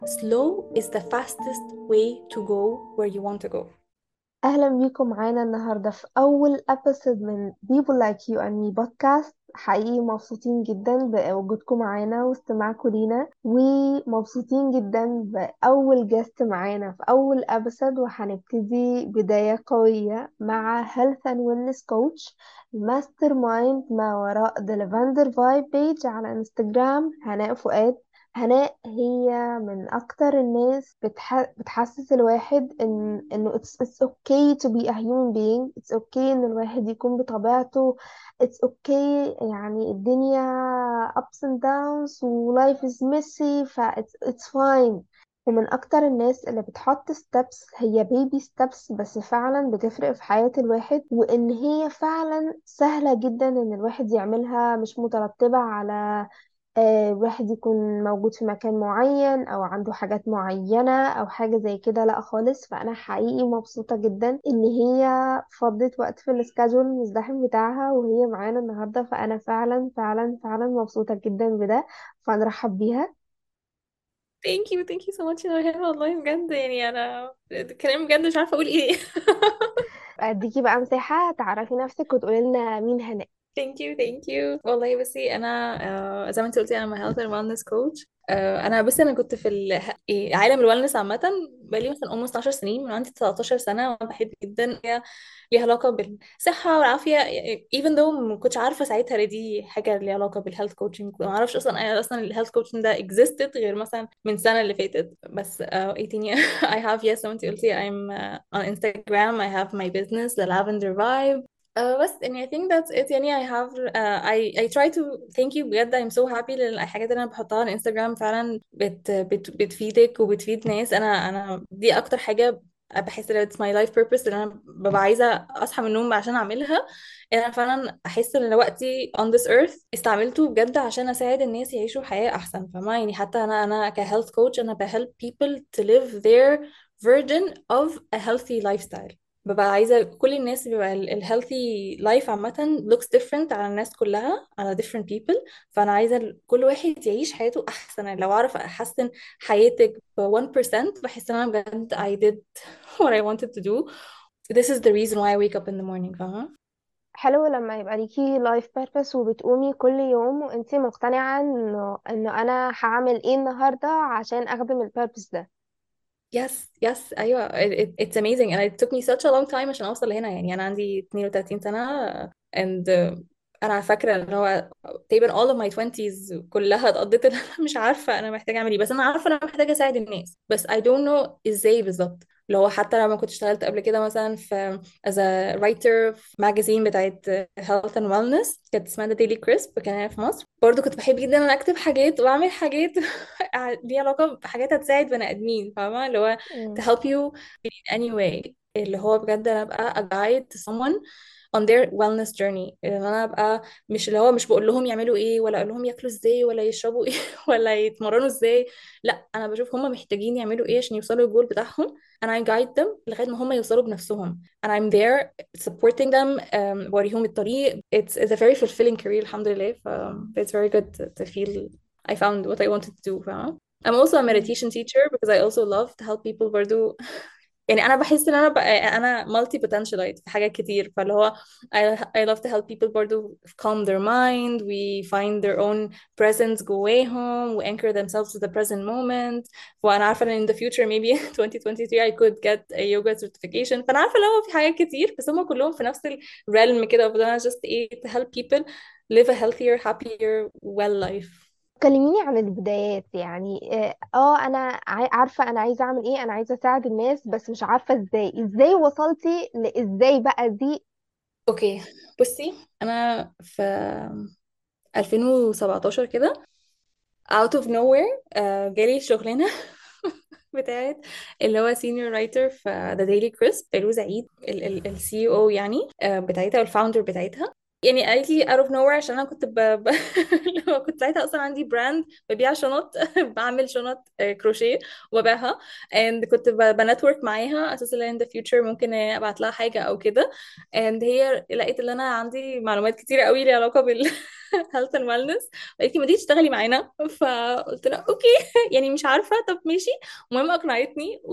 Slow is the fastest way to go where you want to go. أهلا بيكم معانا النهاردة في أول أبيسود من People Like You and Me بودكاست. حقيقي مبسوطين جدا بوجودكم معانا واستماعكم لينا، ومبسوطين جدا بأول جست معانا في أول أبيسود. وهنبتدي بداية قوية مع Health and Wellness Coach ماستر مايند ما وراء The Lavender Vibe Page على انستجرام، هناء فؤاد. هناء هي من اكتر الناس بتحسس الواحد انه it's okay to be a human being. it's okay ان الواحد يكون بطبيعته. it's okay، يعني الدنيا ups and downs و life is messy، ف it's fine. ومن اكتر الناس اللي بتحط steps، هي baby steps بس فعلا بتفرق في حياة الواحد، وان هي فعلا سهلة جدا ان الواحد يعملها، مش مترتبة على واحد يكون موجود في مكان معين او عنده حاجات معينة او حاجة زي كده. لا خالص. فانا حقيقي مبسوطة جدا ان هي فضت وقت في السكادجول المزدحم بتاعها وهي معانا النهاردة. فانا فعلا فعلا فعلا مبسوطة جدا بده، فنرحب بيها. Thank you so much يا نورهان، والله بجد يعني أنا الكلام بجد مش عارفة أقول إيه. اديكي بقى مساحة تعرفي نفسك وتقولي لنا مين هناء. thank you والله. بصي أنا زي ما أنت قلتي أنا health and wellness coach. أنا كنت في عالم الوellness عامة بقالي مثلا almost 10 سنين، من عندي 19 سنة، وأنا بحب جدا هي ليها علاقة بالصحة والعافية. even though ما كنتش عارفة ساعتها إن دي حاجة ليها علاقة بالهيلث كوتشنج، ما أعرفش أصلا الهيلث كوتشنج ده existed غير مثلا من السنة اللي فاتت. بس ايه تاني I have yes زي ما انتي قلتي I'm on Instagram. I have my business The Lavender Vibe. بس يعني I think that's it. يعني I have I try to thank you بجد. I'm so happy لأن الحاجات اللي أنا بحطها على انستجرام فعلا بتفيدك وبتفيد ناس. أنا دي أكتر حاجة بحس ان it's my life purpose اللي انا ببقى عايزه اصحى من النوم عشان اعملها. ان انا فعلا احس ان وقتي on this earth استعملته بجد عشان اساعد الناس يعيشوا حياه احسن، فما يعني حتى انا ك health coach انا ب help people to live their version of a healthy lifestyle. ببقى عايزه كل الناس بيبقى ال healthy life عامه looks different على الناس كلها، على different people. فانا عايزه كل واحد يعيش حياته احسن. يعني لو اعرف احسن حياتك ب 1% بحس ان انا بجد I did what I wanted to do. This is the reason why I wake up in the morning. فاهمة؟ حلو لما يبقى ليكي لايف بيربس وبتقومي كل يوم وانتي مقتنعة انه انا هعمل ايه النهاردة عشان اخدم البيربس ده. yes أيوة. it's amazing and it took me such a long time عشان أوصل لهنا. يعني أنا عندي 32 سنة and أنا فاكرة إن هو تقريبا all of my 20s كلها اتقضيت إن أنا مش عارفة أنا محتاجة أعمل إيه، بس أنا عارفة أنا محتاجة أساعد الناس، بس I don't know إزاي بالظبط. اللي هو حتى لما كنت اشتغلت قبل كده مثلا في as a writer في ماجازين بتاعت health and wellness كانت اسمها The Daily Crisp، كان هنا في مصر. برضه كنت بحب جدا أنا أكتب حاجات وأعمل حاجات ليها علاقة بحاجات هتساعد بني آدمين، فاهمة؟ اللي هو to مم. help you in any way. اللي هو بجد أنا أبقى a guide to someone on their wellness journey. ان انا ابقى مش اللي هو مش بقول لهم يعملوا ايه ولا اقول لهم ياكلوا ازاي ولا يشربوا ايه ولا يتمرنوا ازاي. لا، انا بشوف هم محتاجين يعملوا ايه عشان يوصلوا للجول بتاعهم and I guide them لغاية ما هم يوصلوا بنفسهم and I'm there supporting them. بوريهم الطريق. It's a very fulfilling career الحمد لله. It's very good to feel I found what I wanted to do. فاهمة؟ I'm also a مم. meditation teacher because I also love to help people برضو. يعني انا بحس ان انا مالتي بوتنشالite في حاجات كتير، فاللي هو I love to help people برضو calm their mind we find their own presence جواهم و anchor themselves to the present moment. وانا عارفه ان in the future maybe 2023 I could get a yoga certification. فانا عارفه لو في حاجات كتير بس هم كلهم في نفس ال realm كده، وفضل انا just ايه to help people live a healthier happier well life. كلميني عن البدايات. يعني انا عارفة انا عايزة اعمل ايه، انا عايزة اساعد الناس بس مش عارفة ازاي وصلتي لازاي بقى دي. اوكي، بصي انا في 2017 كده out of nowhere جالي شغلانة بتاعت اللي هو senior writer في The Daily Crisp. فيروز عيد ال CEO يعني بتاعتها والفاوندر بتاعتها. يعني قالت لي out of nowhere عشان انا كنت اللي هو كنت ساعتها اصلا عندي براند ببيع شنط بعمل شنط كروشيه وببيعها. and كنت بنتورك معاها اساس ان in the future ممكن ابعت لها حاجه او كده. and هي لقيت ان انا عندي معلومات كتيره قوي ليها علاقه health and wellness. قالت لي ما تيجي تشتغلي معانا، فقلت لها اوكي. يعني مش عارفه، طب ماشي. المهم اقنعتني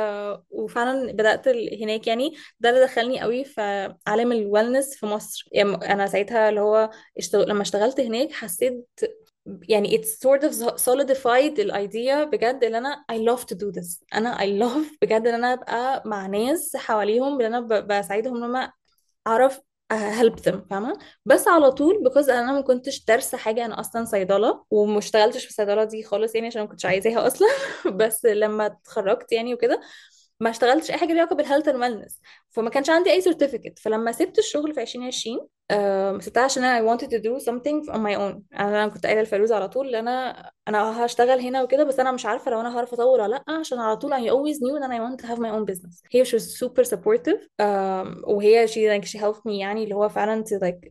وفعلا بدات هناك يعني. ده اللي دخلني قوي في عالم الوellness في مصر. يعني انا ساعتها اللي هو لما اشتغلت هناك حسيت يعني it's sort of solidified الidea بجد اللي انا I love to do this. انا I love بجد ان انا ابقى مع ناس حواليهم اللي انا بساعدهم ان هم اعرف help them، فاهمه؟ بس على طول because انا ما كنتش دارسه حاجه، انا اصلا صيدله وما اشتغلتش في الصيدله دي خالص يعني عشان ما كنتش عايزاها اصلا. بس لما اتخرجت يعني وكده ما اشتغلتش اي حاجه ليها علاقه بالهيلث اند ويلنس. فما كانش عندي اي سيرتيفيكت. فلما سبت الشغل في 2020 سبتها عشان انا I wanted to do something on my own. انا كنت قايله لفيروز على طول ان انا هشتغل هنا وكده، بس انا مش عارفه لو انا هعرف اطور ولا لا، عشان على طول I always knew that I want to have my own business. هي she was super supportive. وهي she helped me يعني اللي هو فعلا to like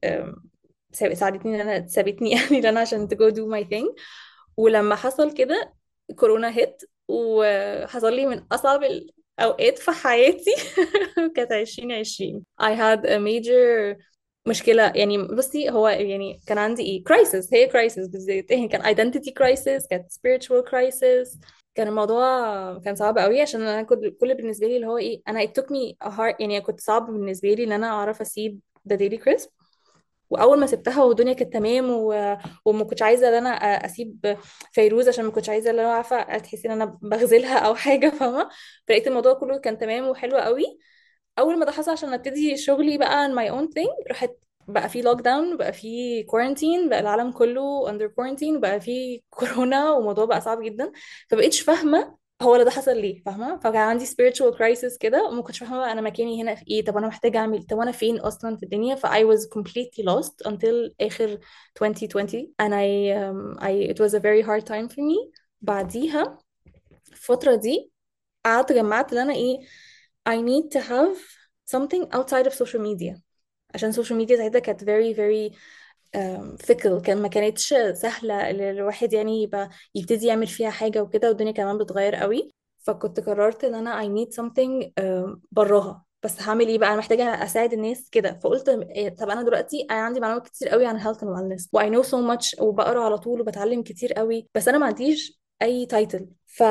ساعدتني ان انا سابتني يعني ان انا عشان to go do my thing. ولما حصل كده كورونا هيت، وحصل لي من أصعب الأوقات في حياتي. كانت 2020 I had a major مشكلة. يعني بصي هو يعني كان عندي ايه crisis، هي crisis بالذات يعني كان identity crisis، كانت spiritual crisis. كان الموضوع كان صعب قوي عشان انا كنت كل بالنسبة لي اللي هو ايه، انا it took me a hard يعني كنت صعب بالنسبة لي ان انا اعرف اسيب the daily crisp. واول ما سبتها والدنيا كانت تمام وما كنتش عايزه ان انا اسيب فيروز عشان ما كنتش عايزه ان انا عارفه تحسي ان انا بغزلها او حاجه، فاهمه؟ فلقيت الموضوع كله كان تمام وحلو قوي. اول ما ده حصل عشان ابتدي شغلي بقى on my own thing، راحت بقى في لوك داون، بقى في كورنتين، بقى العالم كله under quarantine، بقى في كورونا والموضوع بقى صعب جدا. فبقيتش فاهمه هو اللي ده حصل ليه، فاهمه؟ فكان عندي spiritual crisis كده وما كنتش فاهمه انا مكاني هنا في ايه، طب انا محتاجه اعمل، طب انا فين اصلا في الدنيا. ف I was completely lost until اخر 2020 and it was a very hard time for me. بعديها الفتره دي قعدت جمعت ان انا ايه I need to have something outside of social media. عشان السوشيال ميديا ساعتها كانت very very fickle. ما كانتش سهلة الواحد يعني يبقى يبتدي يعمل فيها حاجة وكده، والدنيا كمان بتغير قوي. فكنت قررت ان انا I need something براها. بس هعمل ايه بقى؟ انا محتاجة اساعد الناس كده. فقلت طب انا دلوقتي انا عندي معلومات كتير قوي عن health and wellness و I know so much وبقرا على طول وبتعلم كتير قوي، بس انا ما عنديش اي تايتل.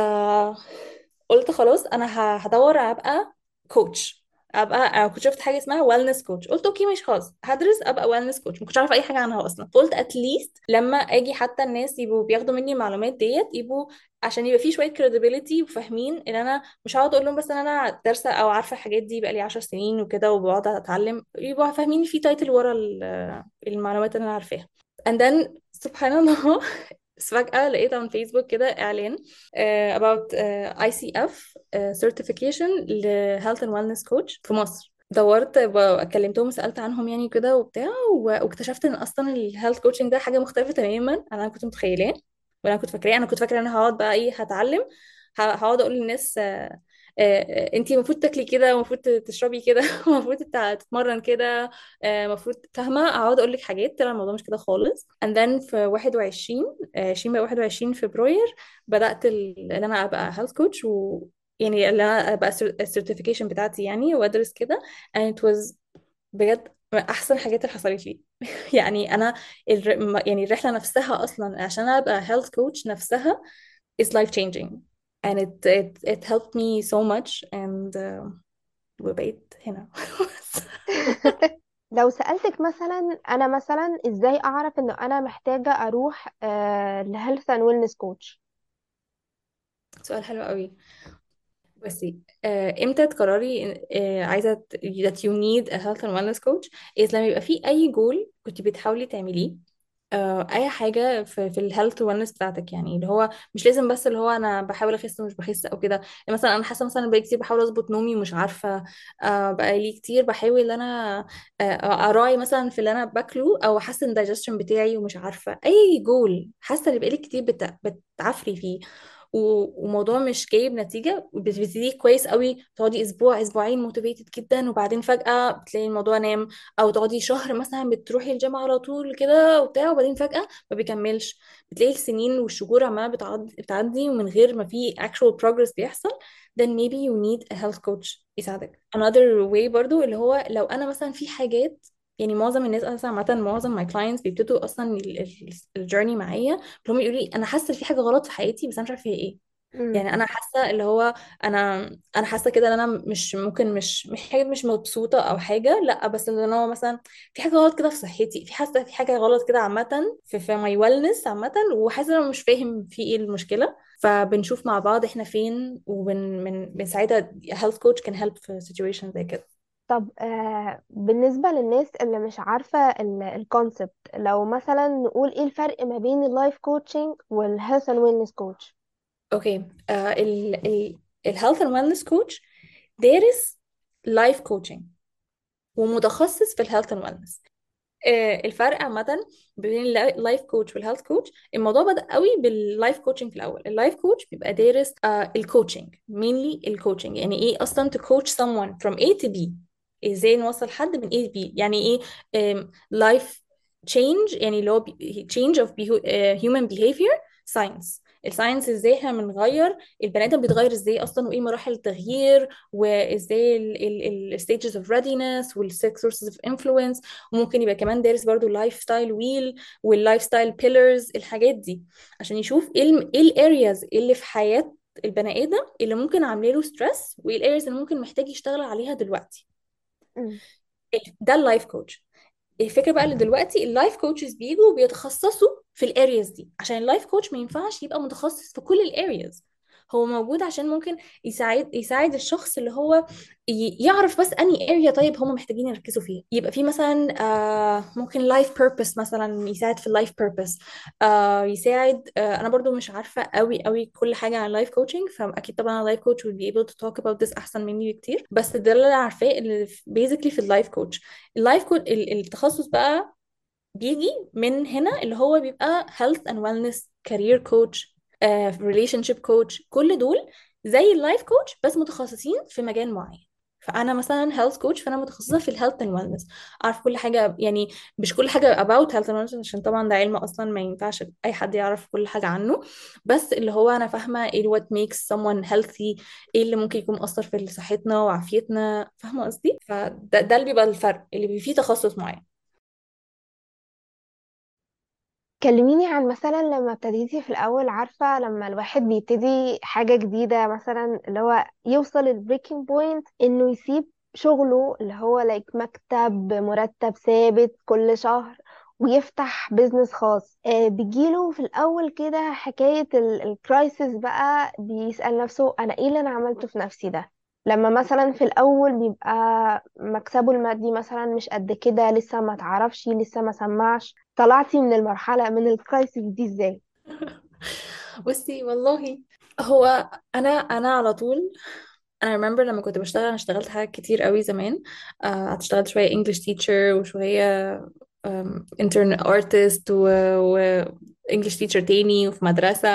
قلت خلاص انا هدور ابقى كوتش. ابقى انا كنت شفت حاجه اسمها ويلنس كوتش، قلت اوكي مش خلاص هدرس ابقى ويلنس كوتش. ما كنتش عارفه اي حاجه عنها اصلا. قلت اتليست لما اجي حتى الناس يبقوا بياخدوا مني المعلومات ديت يبقوا عشان يبقى في شويه credibility وفاهمين ان انا مش هقعد اقول لهم بس ان انا دارسه او عارفه الحاجات دي بقالي 10 سنين وكده وبقعد اتعلم، يبقوا فاهمين في تايتل ورا المعلومات اللي انا عارفاها. and then سبحان الله بس فجأة لقيت على فيسبوك كده إعلان about ICF certification ل Health and Wellness Coach في مصر. دورت كلمتهم وسألت عنهم يعني كده وبتاع واكتشفت ان اصلا الهيلث كوتشنج ده حاجة مختلفة تماما عن انا كنت متخيلاه ولا كنت فاكراه. انا كنت فاكرة ان انا هقعد بقى ايه هتعلم، هقعد اقول للناس انتي المفروض تاكلي كده، المفروض تشربي كده، المفروض تتمرن كده، المفروض فاهمة. اقعد اقول لك حاجات، طلع الموضوع مش كده خالص. and then في 21 20 بقى 21 فبراير بدأت ان انا ابقى هيلث كوتش يعني اللي انا ابقى السيرتيفيكيشن بتاعتي يعني وادرس كده. and it was بجد من احسن حاجات اللي حصلت لي. يعني انا يعني الرحله نفسها اصلا عشان ابقى health coach نفسها is life changing and it helped me so much and وبقيت هنا. لو سألتك مثلا أنا مثلا إزاي أعرف إن أنا محتاجة أروح لهيلث أند ويلنس كوتش؟ سؤال حلو قوي. بصي امتى تقرري عايزه that you need a health and wellness coach is لما يبقى في اي جول كنت بتحاولي تعمليه، اي حاجه في الهيلث والنس بتاعتك. يعني اللي هو مش لازم بس اللي هو انا بحاول اخس ومش بخس او كده. يعني مثلا انا حاسه مثلا بقالي كتير بحاول اظبط نومي ومش عارفه، بقالي كتير بحاول ان انا اراعي مثلا في اللي انا باكله او احسن الدايجستشن بتاعي ومش عارفه اي جول حاسه ان بقالي كتير بتعفري فيه وموضوع مش جايب نتيجة. بتبتدي كويس قوي، تقعدي أسبوع أسبوعين موتيفيتد جدا وبعدين فجأة بتلاقي الموضوع نام. أو تقعدي شهر مثلا بتروحي الجامعة على طول كده وبتاع وبعدين فجأة ما بيكملش. بتلاقي السنين والشهور عمالة بتعدي ومن غير ما في actual progress بيحصل. then maybe you need a health coach يساعدك. another way برضو اللي هو لو أنا مثلا في حاجات يعني معظم الناس اصلا عامه، معظم ماي كلاينتس بيبتدوا اصلا الجيرني معايا، هم يقولوا لي انا حاسه إن في حاجه غلط في حياتي بس انا مش عارفه هي ايه. مم. يعني انا حاسه اللي هو انا حاسه كده ان انا مش ممكن مش حاجه مش مبسوطه او حاجه، لا، بس ان هو مثلا في حاجه غلط كده في صحتي، في حاسه في حاجه غلط كده عامه في ماي ويلنس عامه، وحاسه ان انا مش فاهم في ايه المشكله. فبنشوف مع بعض احنا فين، بنساعدها. health coach can help في situation زي كده. طب بالنسبة للناس اللي مش عارفة الكونسبت، لو مثلا نقول ايه الفرق ما بين اللايف كوتشنج والهيلث اند ويلنس كوتش؟ اوكي. ال الهيلث اند ويلنس كوتش دارس لايف كوتشنج ومتخصص في الهيلث اند ويلنس. الفرق عامة بين اللايف كوتش والهيلث كوتش، الموضوع بدأ قوي باللايف كوتشنج. في الأول اللايف كوتش بيبقى دارس الكوتشنج، mainly الكوتشنج، يعني ايه أصلا to coach someone from A to B، ازاي نوصل حد من A to B، يعني ايه life change، يعني اللي هو change of human behavior science. الساينس ازاي احنا بنغير البني ادم، بيتغير ازاي اصلا، وايه مراحل التغيير، وازاي ال stages of readiness وال six sources of influence. وممكن يبقى كمان دارس برضو اللايف ستايل ويل واللايف ستايل بيلرز، الحاجات دي، عشان يشوف ايه الارياز اللي في حياة البني ادم اللي ممكن عامله له ستريس، وايه الارياز اللي ممكن محتاج يشتغل عليها دلوقتي. مم. ده اللايف كوتش. الفكره بقى اللي دلوقتي اللايف كوتشز بيجوا بيتخصصوا في الارياز دي، عشان اللايف كوتش ما ينفعش يبقى متخصص في كل الارياز. هو موجود عشان ممكن يساعد الشخص اللي هو يعرف بس انهي اريا طيب هم محتاجين يركزوا فيها. يبقى في مثلا ممكن لايف بيربس، مثلا يساعد في اللايف بيربس. يساعد انا برضو مش عارفه قوي قوي كل حاجه عن اللايف كوتشنج، فاكيد طبعا اللايف كوتش will be able to talk about this احسن مني بكتير، بس ده اللي انا عارفاه اللي بيزيكلي في اللايف كوتش. اللايف كوتش التخصص بقى بيجي من هنا، اللي هو بيبقى health and wellness career coach، relationship coach، كل دول زي اللايف كوتش بس متخصصين في مجال معين. فانا مثلا health coach، فانا متخصصه في الهيلث اند wellness، اعرف كل حاجه، يعني مش كل حاجه about health and wellness عشان طبعا ده علم اصلا ما ينفعش اي حد يعرف كل حاجه عنه، بس اللي هو انا فاهمه ايه what makes someone healthy، ايه اللي ممكن يكون مؤثر في صحتنا وعافيتنا، فاهمه قصدي؟ فده اللي بيبقى الفرق اللي بيبقى فيه تخصص معين. كلميني عن مثلا لما ابتديتي في الأول، عارفة لما الواحد بيبتدي حاجة جديدة، مثلا اللي هو يوصل البريكنج بوينت انه يسيب شغله اللي هو مكتب مرتب ثابت كل شهر ويفتح بيزنس خاص. بيجيله في الأول كده حكاية الكرايسيس بقى، بيسأل نفسه أنا ايه اللي أنا عملته في نفسي ده؟ لما مثلا في الأول بيبقى مكسبه المادي مثلا مش قد كده، لسه ما تعرفش، لسه ما سمعش، طلعتي من المرحلة من الكرايسيس دي ازاي؟ بصي والله، هو انا على طول، انا remember لما كنت بشتغل، انا اشتغلت حاجات كتير قوي زمان. اشتغلت شويه انجلش تيتشر، وشويه intern artist، و English teacher تاني، وفي مدرسة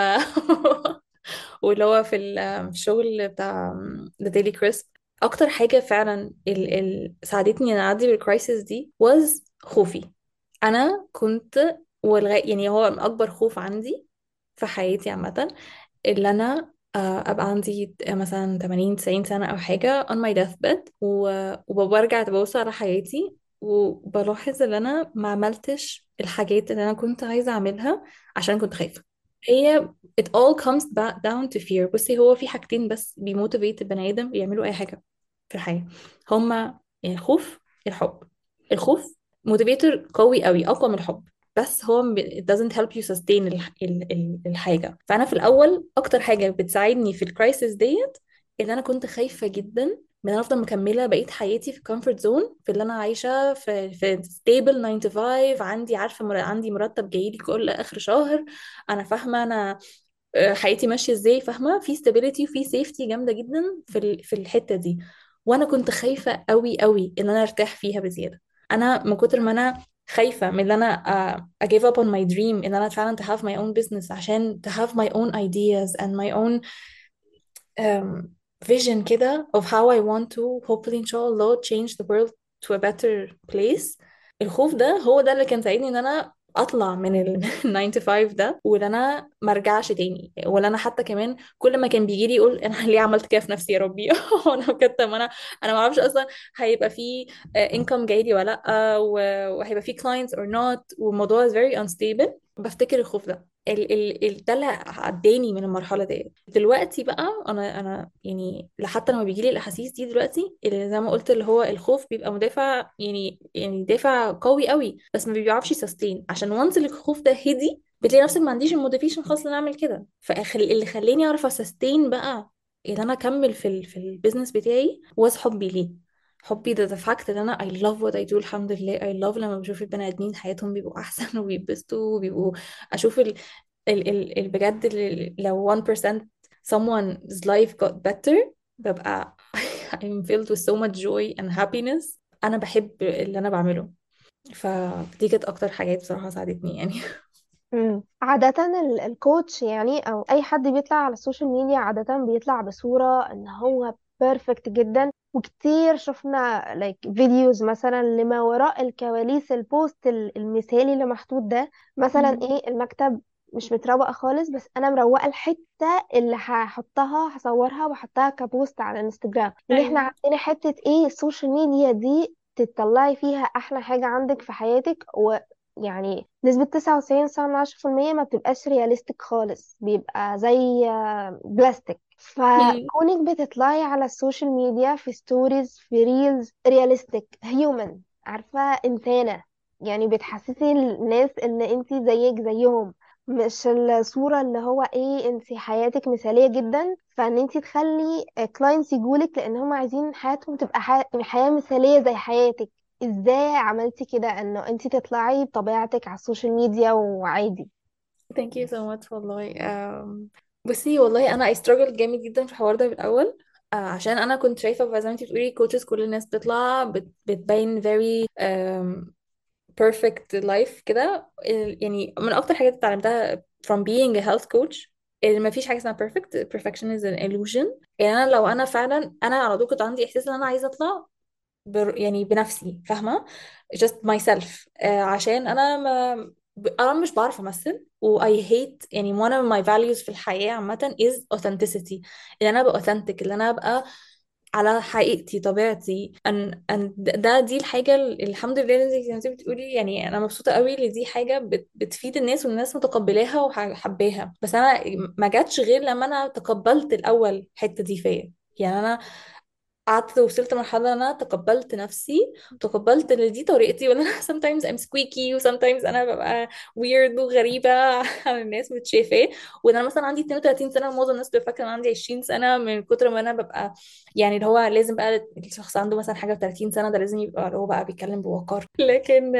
واللي هو في الشغل بتاع The Daily Crisp. أكتر حاجة فعلا ساعدتني إن أعدي بالكرايسيس دي was خوفي. أنا كنت يعني هو أكبر خوف عندي في حياتي عامة، اللي أنا أبقى عندي مثلا 80 90 سنة أو حاجة on my deathbed، وبرجع ببص على حياتي وبلاحظ ان انا ما عملتش الحاجات اللي انا كنت عايزة اعملها عشان كنت خايفة. هي it all comes back down to fear. بصي، هو في حاجتين بس بيموتيفيت البني ادم يعملوا اي حاجة في الحياة، هما الخوف، الحب. الخوف موتيفيتور قوي قوي، اقوى من الحب، بس هو it doesn't help you sustain الحاجة. فأنا في الأول أكتر حاجة بتساعدني في الكرايسيس ديت، إن أنا كنت خايفة جدا من أنا أفضل مكملة بقية حياتي في كومفورت زون، في اللي أنا عايشة في ستيبل 9 to 5، عندي عارفة عندي مرتب جايلي كل آخر شهر، أنا فاهمة أنا حياتي ماشية إزاي، فاهمة في stability وفي safety جامدة جدا في الحتة دي. وأنا كنت خايفة قوي قوي إن أنا أرتاح فيها بزيادة. أنا من كتر ما أنا خايفة من ان انا give up on my dream، ان انا فعلا to have my own business، عشان to have my own ideas and my own um, vision كده of how I want to hopefully إن شاء الله change the world to a better place. الخوف ده هو ده اللي كان ساعدني إن أنا اطلع من ال 9 to 5 ده، ولا انا ما ارجعش تاني، ولا انا حتى كمان كل ما كان بيجي لي يقول انا ليه عملت كده في نفسي يا ربي. انا بجد، طب انا ما اعرفش اصلا هيبقى في انكم جاي لي ولا لا، وهيبقى في clients or not، والموضوع is very unstable. بفتكر الخوف ده، ده اللي عداني من المرحله دي. دلوقتي بقى انا يعني حتى لما بيجي لي الاحاسيس دي دلوقتي، اللي زي ما قلت اللي هو الخوف بيبقى مدافع، يعني دافع قوي قوي، بس ما بيعرفش يسستين، عشان وانس الخوف ده هدي بتلاقي نفسك ما عنديش الموتيفيشن خالص ان أنا اعمل كده. اللي خلاني اعرف اسستين بقى ان انا اكمل في البيزنس بتاعي was حبي ليه. حبي ده فاكت ان انا I love what I do. الحمد لله I love لما بشوف البني ادمين حياتهم بيبقوا احسن وبيتبسطوا وبيبقوا، اشوف بجد لو 1% someone's life got better، ببقى I'm filled with so much joy and happiness. انا بحب اللي انا بعمله. فدي كانت اكتر حاجات بصراحة ساعدتني يعني. عادة الكوتش يعني او اي حد بيطلع على السوشيال ميديا عادة بيطلع بصورة ان هو بيرفكت جدا، وكتير شفنا فيديوز مثلا لما وراء الكواليس، البوست المثالي اللي محطوط ده. مثلا مم. ايه، المكتب مش متروق خالص بس انا مروقه الحته اللي هحطها هصورها واحطها كبوست على الانستجرام. اللي احنا ايوه. عندنا حته ايه، السوشيال ميديا دي تطلعي فيها احلى حاجه عندك في حياتك، يعني نسبة 99.9% ما بتبقاش رياليستيك خالص، بيبقى زي بلاستيك. مم. فكونك بتطلعي على السوشيال ميديا في ستوريز في ريلز رياليستيك هيومن، عارفة، إنسانة، يعني بتحسسي الناس ان انتي زيك زيهم، مش الصورة اللي هو ايه انتي حياتك مثالية جدا فان انتي تخلي كلاينتس يجولك لان هم عايزين حياتهم تبقى حياة مثالية زي حياتك. ازاي عملتي كده انه انت تطلعي بطبيعتك على السوشيال ميديا وعادي؟ thank you so much والله. بصي والله انا I struggled جامد جدا في الحوار ده في الاول. عشان انا كنت شايفه زي ما انتي بتقولي كوتشز كل الناس بتطلع بتبين very perfect life كده. يعني من اكتر حاجات اتعلمتها from being a health coach ان ما فيش حاجه اسمها perfect. perfection is an illusion. يعني انا لو انا فعلا انا على طول كنت عندي احساس ان انا عايزه اطلع يعني بنفسي، فاهمه؟ just myself. عشان انا ما انا مش بعرف امثل، و I hate يعني one of my values في الحياه عامه is authenticity. ان انا ابقى authentic، ان انا ابقى على حقيقتي طبيعتي. دي الحاجة الحمد لله اللي زي ما انت بتقولي. يعني أنا مبسوطة قوي ان دي حاجة بتفيد الناس والناس متقبلاها وحباها. بس أنا ما جاتش غير لما أنا تقبلت الأول الحتة دي فيا. يعني أنا قعدت وصلت مرحلة ان انا تقبلت نفسي، وتقبلت ان دي طريقتي، وان انا sometimes I'm squeaky، و sometimes انا ببقى weird وغريبة عن الناس متشافاه. وان انا مثلا عندي 32 سنة ومعظم الناس بتبقى فاكرة ان انا عندي 20 سنة من كتر ما انا ببقى، يعني اللي هو لازم بقى الشخص عنده مثلا حاجة 30 سنة ده لازم يبقى اللي هو بقى بيتكلم بوقار. لكن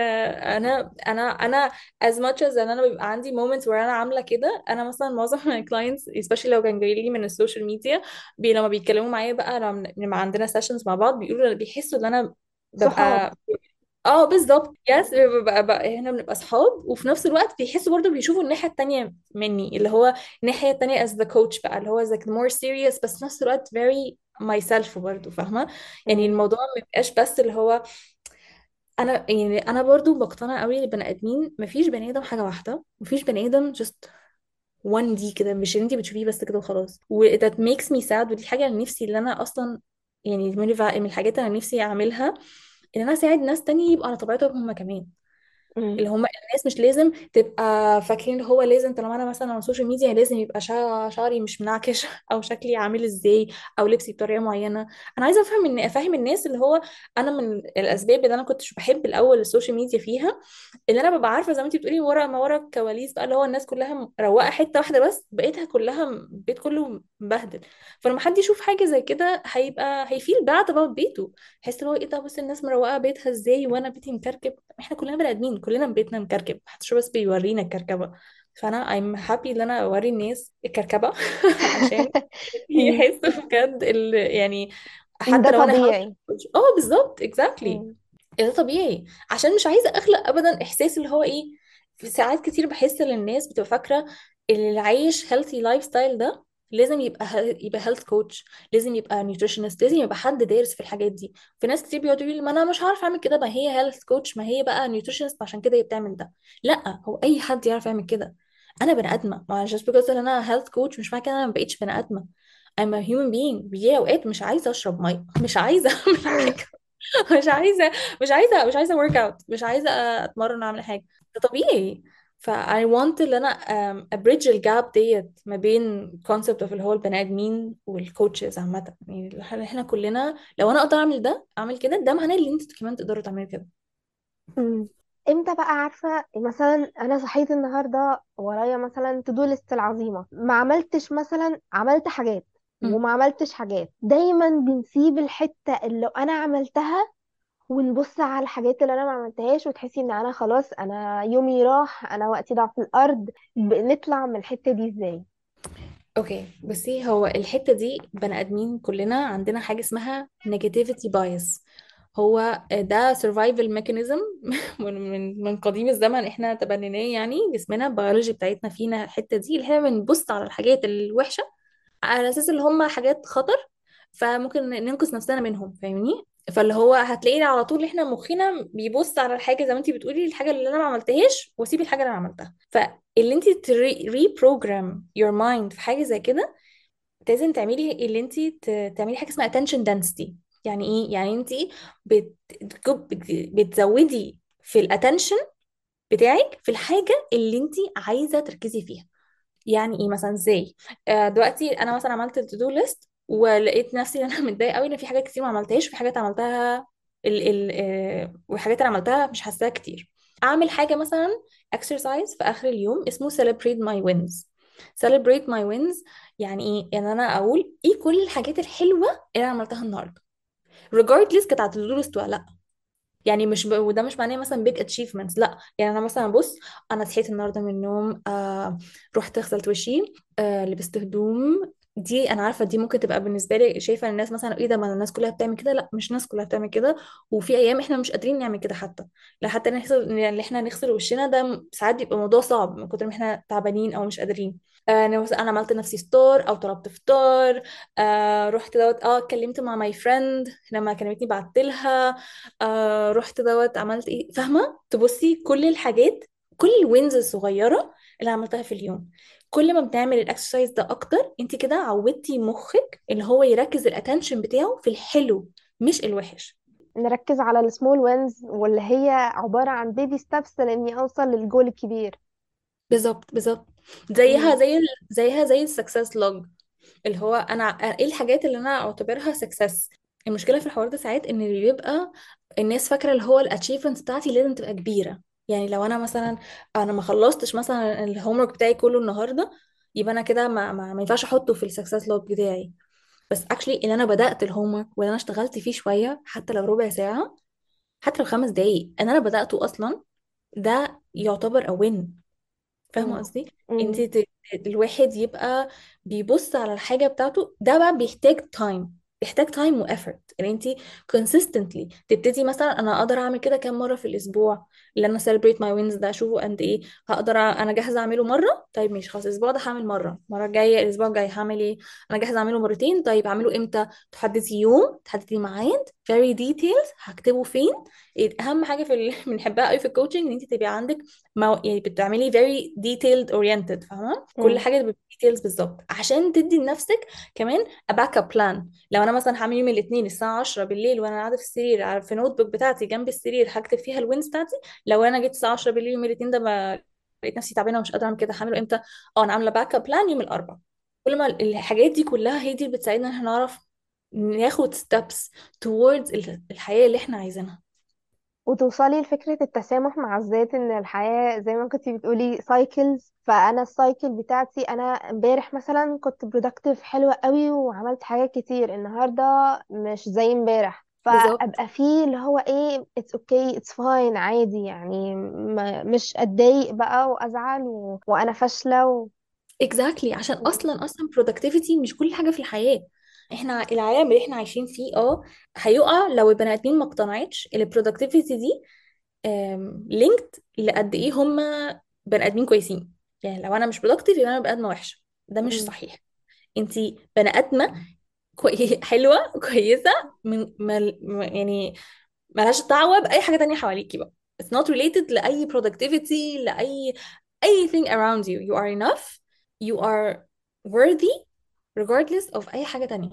انا as much as ان انا بيبقى عندي moments where انا عاملة كده. انا مثلا معظم my clients especially لو كان جاي لي من السوشيال ميديا، لما بيتكلموا معايا بقى لما عندنا سيشنز مع بعض بيقولوا بيحسوا ان انا صحاب. ببقى، اه بالظبط يس، ببقى هنا بنبقى اصحاب. وفي نفس الوقت بيحسوا برضو بيشوفوا الناحية التانية مني، اللي هو الناحية التانية as the coach بقى، اللي هو like more serious، بس في نفس الوقت very myself برضو، فاهمة؟ يعني مم. الموضوع ما بيبقاش بس اللي هو انا، يعني انا برضو بقتنع قوي البني ادمين مفيش بني ادم حاجة واحدة، مفيش بني ادم just 1 دي كده، مش اللي انت بتشوفيه بس كده وخلاص. و that makes me sad. ودي حاجة اللي نفسي اللي انا اصلا يعني من الحاجات اللي انا نفسي اعملها، ان انا اساعد ناس تانية يبقوا على طبيعتهم هم كمان. مم. اللي هم الناس مش لازم تبقى فاكرين اللي هو لازم طالما انا مثلا على السوشيال ميديا لازم يبقى شعري مش منعكش او شكلي عامل ازاي او لبسي بطريقه معينه. انا عايزه افهم الناس اللي هو انا من الاسباب اللي انا كنتش بحب الاول السوشيال ميديا فيها، اللي انا ببقى عارفه زي ما انتي بتقولي ورا ما ورا الكواليس بقى، اللي هو الناس كلها مروقه حته واحده بس بقيتها كلها البيت كله مبهدل. فلما حد يشوف حاجه زي كده هيبقى هيفيل باد اباوت بيته. يحس اللي هو ايه ده، بص الناس مروقه بيتها ازاي وانا بيتي مكركب. احنا كلنا بني ادمين، كلنا بيتنا مكركب، محدش بس بيورينا الكركبه. فانا I'm happy ان انا اوري الناس الكركبه عشان مم. يحسوا بجد يعني ان حتى ده لو انا هاوس طبيعي. كوتش. بالظبط exactly. مم. ده طبيعي. عشان مش عايزه اخلق ابدا احساس اللي هو ايه. في ساعات كتير بحس ان الناس بتبقى فاكره اللي عايش healthy لايف ستايل ده لازم يبقى هيلث كوتش، لازم يبقى نيوتريشنست، لازم يبقى حد دارس في الحاجات دي. في ناس كتير بيقعدوا يقولوا ما انا مش عارف اعمل كده، ما هي هيلث كوتش، ما هي بقى نيوتريشنست عشان كده هي بتعمل ده. لا، هو اي حد يعرف يعمل كده. انا بني ادمه، ما just because ان انا هيلث كوتش مش معنى كده انا ما بقتش بني ادمه. I'm a human being. بيجي اوقات مش عايزه اشرب ميه، مش عايزه اعمل حاجه، مش عايزه مش عايزه ورك اوت، مش عايزه اتمرن اعمل حاجه. ده طبيعي. ف I want ان انا abridge الجاب ديت ما بين concept of اللي هو البني ادمين والكوتشز عامه. يعني احنا كلنا لو انا اقدر اعمل ده اعمل كده، ده معناه ان انتوا كمان تقدروا تعملوا كده. مم. امتى بقى عارفة مثلا انا صحيت النهاردة ورايا مثلا تو دو ليست العظيمة، ما عملتش مثلا، عملت حاجات مم. وما عملتش حاجات؟ دايما بنسيب الحتة اللي لو انا عملتها ونبص على الحاجات اللي انا ما عملتهاش، وتحسي ان انا خلاص انا يومي راح، انا وقتي ضاع في الارض. نطلع من الحتة دي ازاي؟ اوكي بصي، هو الحته دي بني ادمين كلنا عندنا حاجه اسمها negativity bias. هو ده survival mechanism من قديم الزمن، احنا تبنيناه. يعني جسمنا البيولوجي بتاعتنا فينا الحته دي اللي احنا بنبص على الحاجات الوحشه على اساس اللي هم حاجات خطر، فممكن ننقذ نفسنا منهم، فاهمني؟ فاللي هو هتلاقينا على طول احنا مخنا بيبص على الحاجه زي ما انتي بتقولي، الحاجه اللي انا ما عملتهاش واسيب الحاجه اللي انا عملتها. فاللي انتي reprogram your mind في حاجه زي كده، لازم تعملي اللي انتي تعملي حاجه اسمها attention density. يعني ايه؟ يعني انتي بت... بتزودي في الاتنشن بتاعك في الحاجه اللي انتي عايزه تركزي فيها. يعني ايه مثلا؟ ازاي؟ دلوقتي انا مثلا عملت التو ليست ولقيت نفسي ان انا متضايقه قوي ان في حاجات كتير ما عملتهاش، وفي حاجات عملتها والحاجات اللي عملتها مش حاساها كتير. اعمل حاجه مثلا exercise في اخر اليوم اسمه celebrate my wins. celebrate my wins يعني ايه؟ يعني انا اقول ايه كل الحاجات الحلوه اللي انا عملتها النهارده regardless كانت على التو ليست ولا لا. يعني وده مش معناه مثلا big achievements، لا. يعني انا مثلا بص، انا صحيت النهارده من النوم، رحت غسلت وشي، لبست هدوم. دي انا عارفه دي ممكن تبقى بالنسبه لي شايفه الناس مثلا ايه ده، ما الناس كلها بتعمل كده. لا، مش الناس كلها بتعمل كده، وفي ايام احنا مش قادرين نعمل كده حتى. لا، حتى نغسل، يعني احنا نغسل وشنا ده ساعات بيبقى موضوع صعب من كتر ما احنا تعبانين او مش قادرين. انا عملت لنفسي فطار او طلبت فطار. رحت دوت اتكلمت مع ماي فريند لما كلمتني بعت لها. رحت دوت عملت ايه، فاهمه؟ تبصي كل الحاجات، كل الوينز الصغيره اللي عملتها في اليوم. كل ما بنعمل الاكسرسايز ده اكتر، انت كده عودتي مخك اللي هو يركز الاتنشن بتاعه في الحلو مش الوحش. نركز على السمول وينز، واللي هي عبارة عن بيبي ستابس لاني اوصل للجول الكبير. بالظبط بالظبط. مم. زيها زي السكسس لوج. اللي هو انا ايه الحاجات اللي انا اعتبرها سكسس. المشكله في الحوار ده ساعات ان اللي بيبقى الناس فاكره اللي هو الاتشيفمنت بتاعتي لازم تبقى كبيره. يعني لو انا مثلا انا ما خلصتش مثلا الهوم ورك بتاعي كله النهارده، يبقى انا كده ما ينفعش احطه في السكسس لوج بتاعي. بس اكشلي ان انا بدات الهوم ورك وان انا اشتغلت فيه شويه، حتى لو ربع ساعه، حتى لو 5 دقايق ان انا بداته اصلا، ده يعتبر اوين. فاهمة مم. قصدي؟ انت مم. الواحد يبقى بيبص على الحاجة بتاعته، ده بقى بيحتاج تايم، بيحتاج تايم وافورت ان انت consistently تبتدي. مثلا انا اقدر اعمل كده كام مرة في الاسبوع؟ اللي انا celebrate my wins ده اشوفه قد ايه هقدر انا جاهزة اعمله مرة. طيب ماشي خلاص، الاسبوع ده هعمل مرة، المرة الجاية الاسبوع الجاي هعمل ايه؟ انا جاهزة اعمله مرتين. طيب اعمله امتى؟ تحددي يوم، تحددي ميعاد very details هكتبه فين. اهم حاجة بنحبها قوي في الكوتشنج ان انت تبقى عندك يعني بتعملي very detailed oriented، فاهمة؟ كل مم. حاجة تبقى details بالظبط عشان تدي لنفسك كمان a backup plan. لو انا مثلا هعمل يوم الاثنين الساعة 10 بالليل وانا قاعدة في السرير في نوت بوك بتاعتي جنب السرير هكتب فيها الوينز بتاعتي، لو انا جيت الساعة 10 بالليل يوم الاثنين ده ما لقيت نفسي تعبانة ومش قادرة اعمل كده، هعمله امتى؟ انا عاملة باك اب بلان يوم الاربعاء. كل ما الحاجات دي كلها هي دي اللي بتساعدنا ان احنا نعرف ناخد steps towards الحياة اللي احنا عايزينها. وتوصلي لفكرة التسامح مع الذات، ان الحياة زي ما كنتي بتقولي سايكلز. فانا السايكل بتاعتي، انا امبارح مثلا كنت برودكتيف حلوة قوي وعملت حاجات كتير، النهاردة مش زي امبارح، بالظبط. فابقى فيه اللي هو ايه اتس اوكي اتس فاين عادي يعني، مش اتضايق بقى وازعل وانا فاشلة exactly. عشان اصلا productivity مش كل حاجه في الحياه. احنا العالم اللي احنا عايشين فيه هيقع لو البني ادمين ما اقتنعتش ان productivity دي linked لقد ايه هم بني ادمين كويسين. يعني لو انا مش productive يبقى انا بني ادمه وحشه، ده مش مم. صحيح. انت بني ادمه حلوه كويسه، من يعني ملهاش دعوه باي حاجه تانية حواليكي بقى. it's not related لاي productivity، لاي anything around you. you are enough. you are worthy regardless of اي حاجه تانية.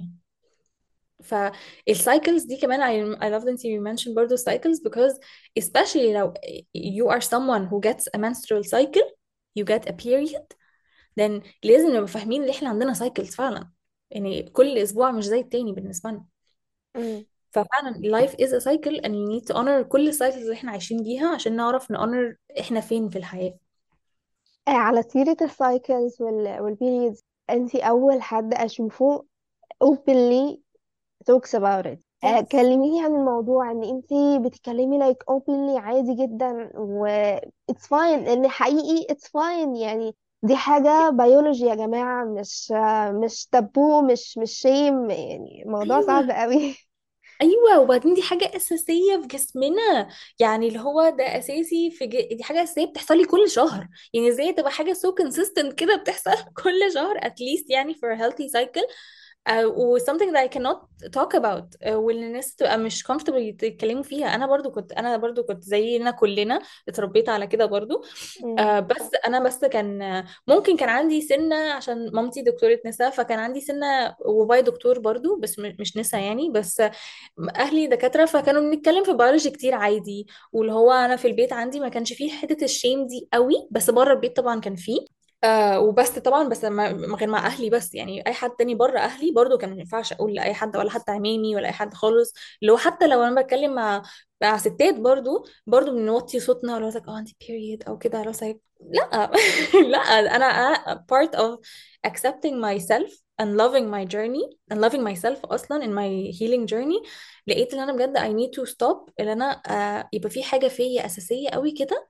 فالسايكلز دي كمان I love that you mentioned برضه cycles because especially لو you are someone who gets a menstrual cycle, you get a period, then لازم نبقى فاهمين ان احنا عندنا cycles فعلا. يعني كل اسبوع مش زي التاني بالنسبة لنا. مم. ففعلا life is a cycle and you need to honor كل السايكلز اللي احنا عايشين بيها عشان نعرف نhonor احنا فين في الحياة. على سيرة السايكلز والبيريدز، انتي اول حد اشوفه openly talks about it. Yes. كلميني عن الموضوع، ان انتي بتتكلمي like openly عادي جدا، و it's fine، ان حقيقي it's fine يعني. دي حاجة بيولوجي يا جماعة، مش تابو، مش شيم، يعني موضوع صعب ايوه قوي. ايوه، وبعدين دي حاجه اساسيه في جسمنا. يعني اللي هو ده اساسي دي حاجه اساسيه بتحصل لي كل شهر. يعني ازاي تبقى حاجه so consistent كده بتحصل كل شهر at least يعني for a healthy cycle. و something that I cannot talk about. واللي الناس تبقى مش comfortable يتكلموا فيها. انا برضو كنت زينا كلنا اتربيت على كده برضو. مم. بس انا بس كان ممكن كان عندي سنة عشان مامتي دكتورة نساء، فكان عندي سنة وبابايا دكتور برضو بس مش نساء يعني. بس اهلي دكاترة فكانوا بنتكلم في بيولوجي كتير عادي. واللي هو انا في البيت عندي ما كانش فيه حتة الشيم دي قوي، بس بره البيت طبعا كان فيه. وبس طبعا، بس غير مع اهلي بس. يعني اي حد تاني بره اهلي برضو كان ما ينفعش اقول لاي حد، ولا حتى عمامي ولا اي حد خالص. اللي هو حتى لو انا بتكلم مع ستات برضو بنوطي صوتنا، ولا like عندي period او كده. لو like لا لا، انا part of accepting myself and loving my journey and loving myself اصلا in my healing journey. لقيت ان انا بجد I need to stop ان انا يبقى في حاجة فيا اساسية قوي كده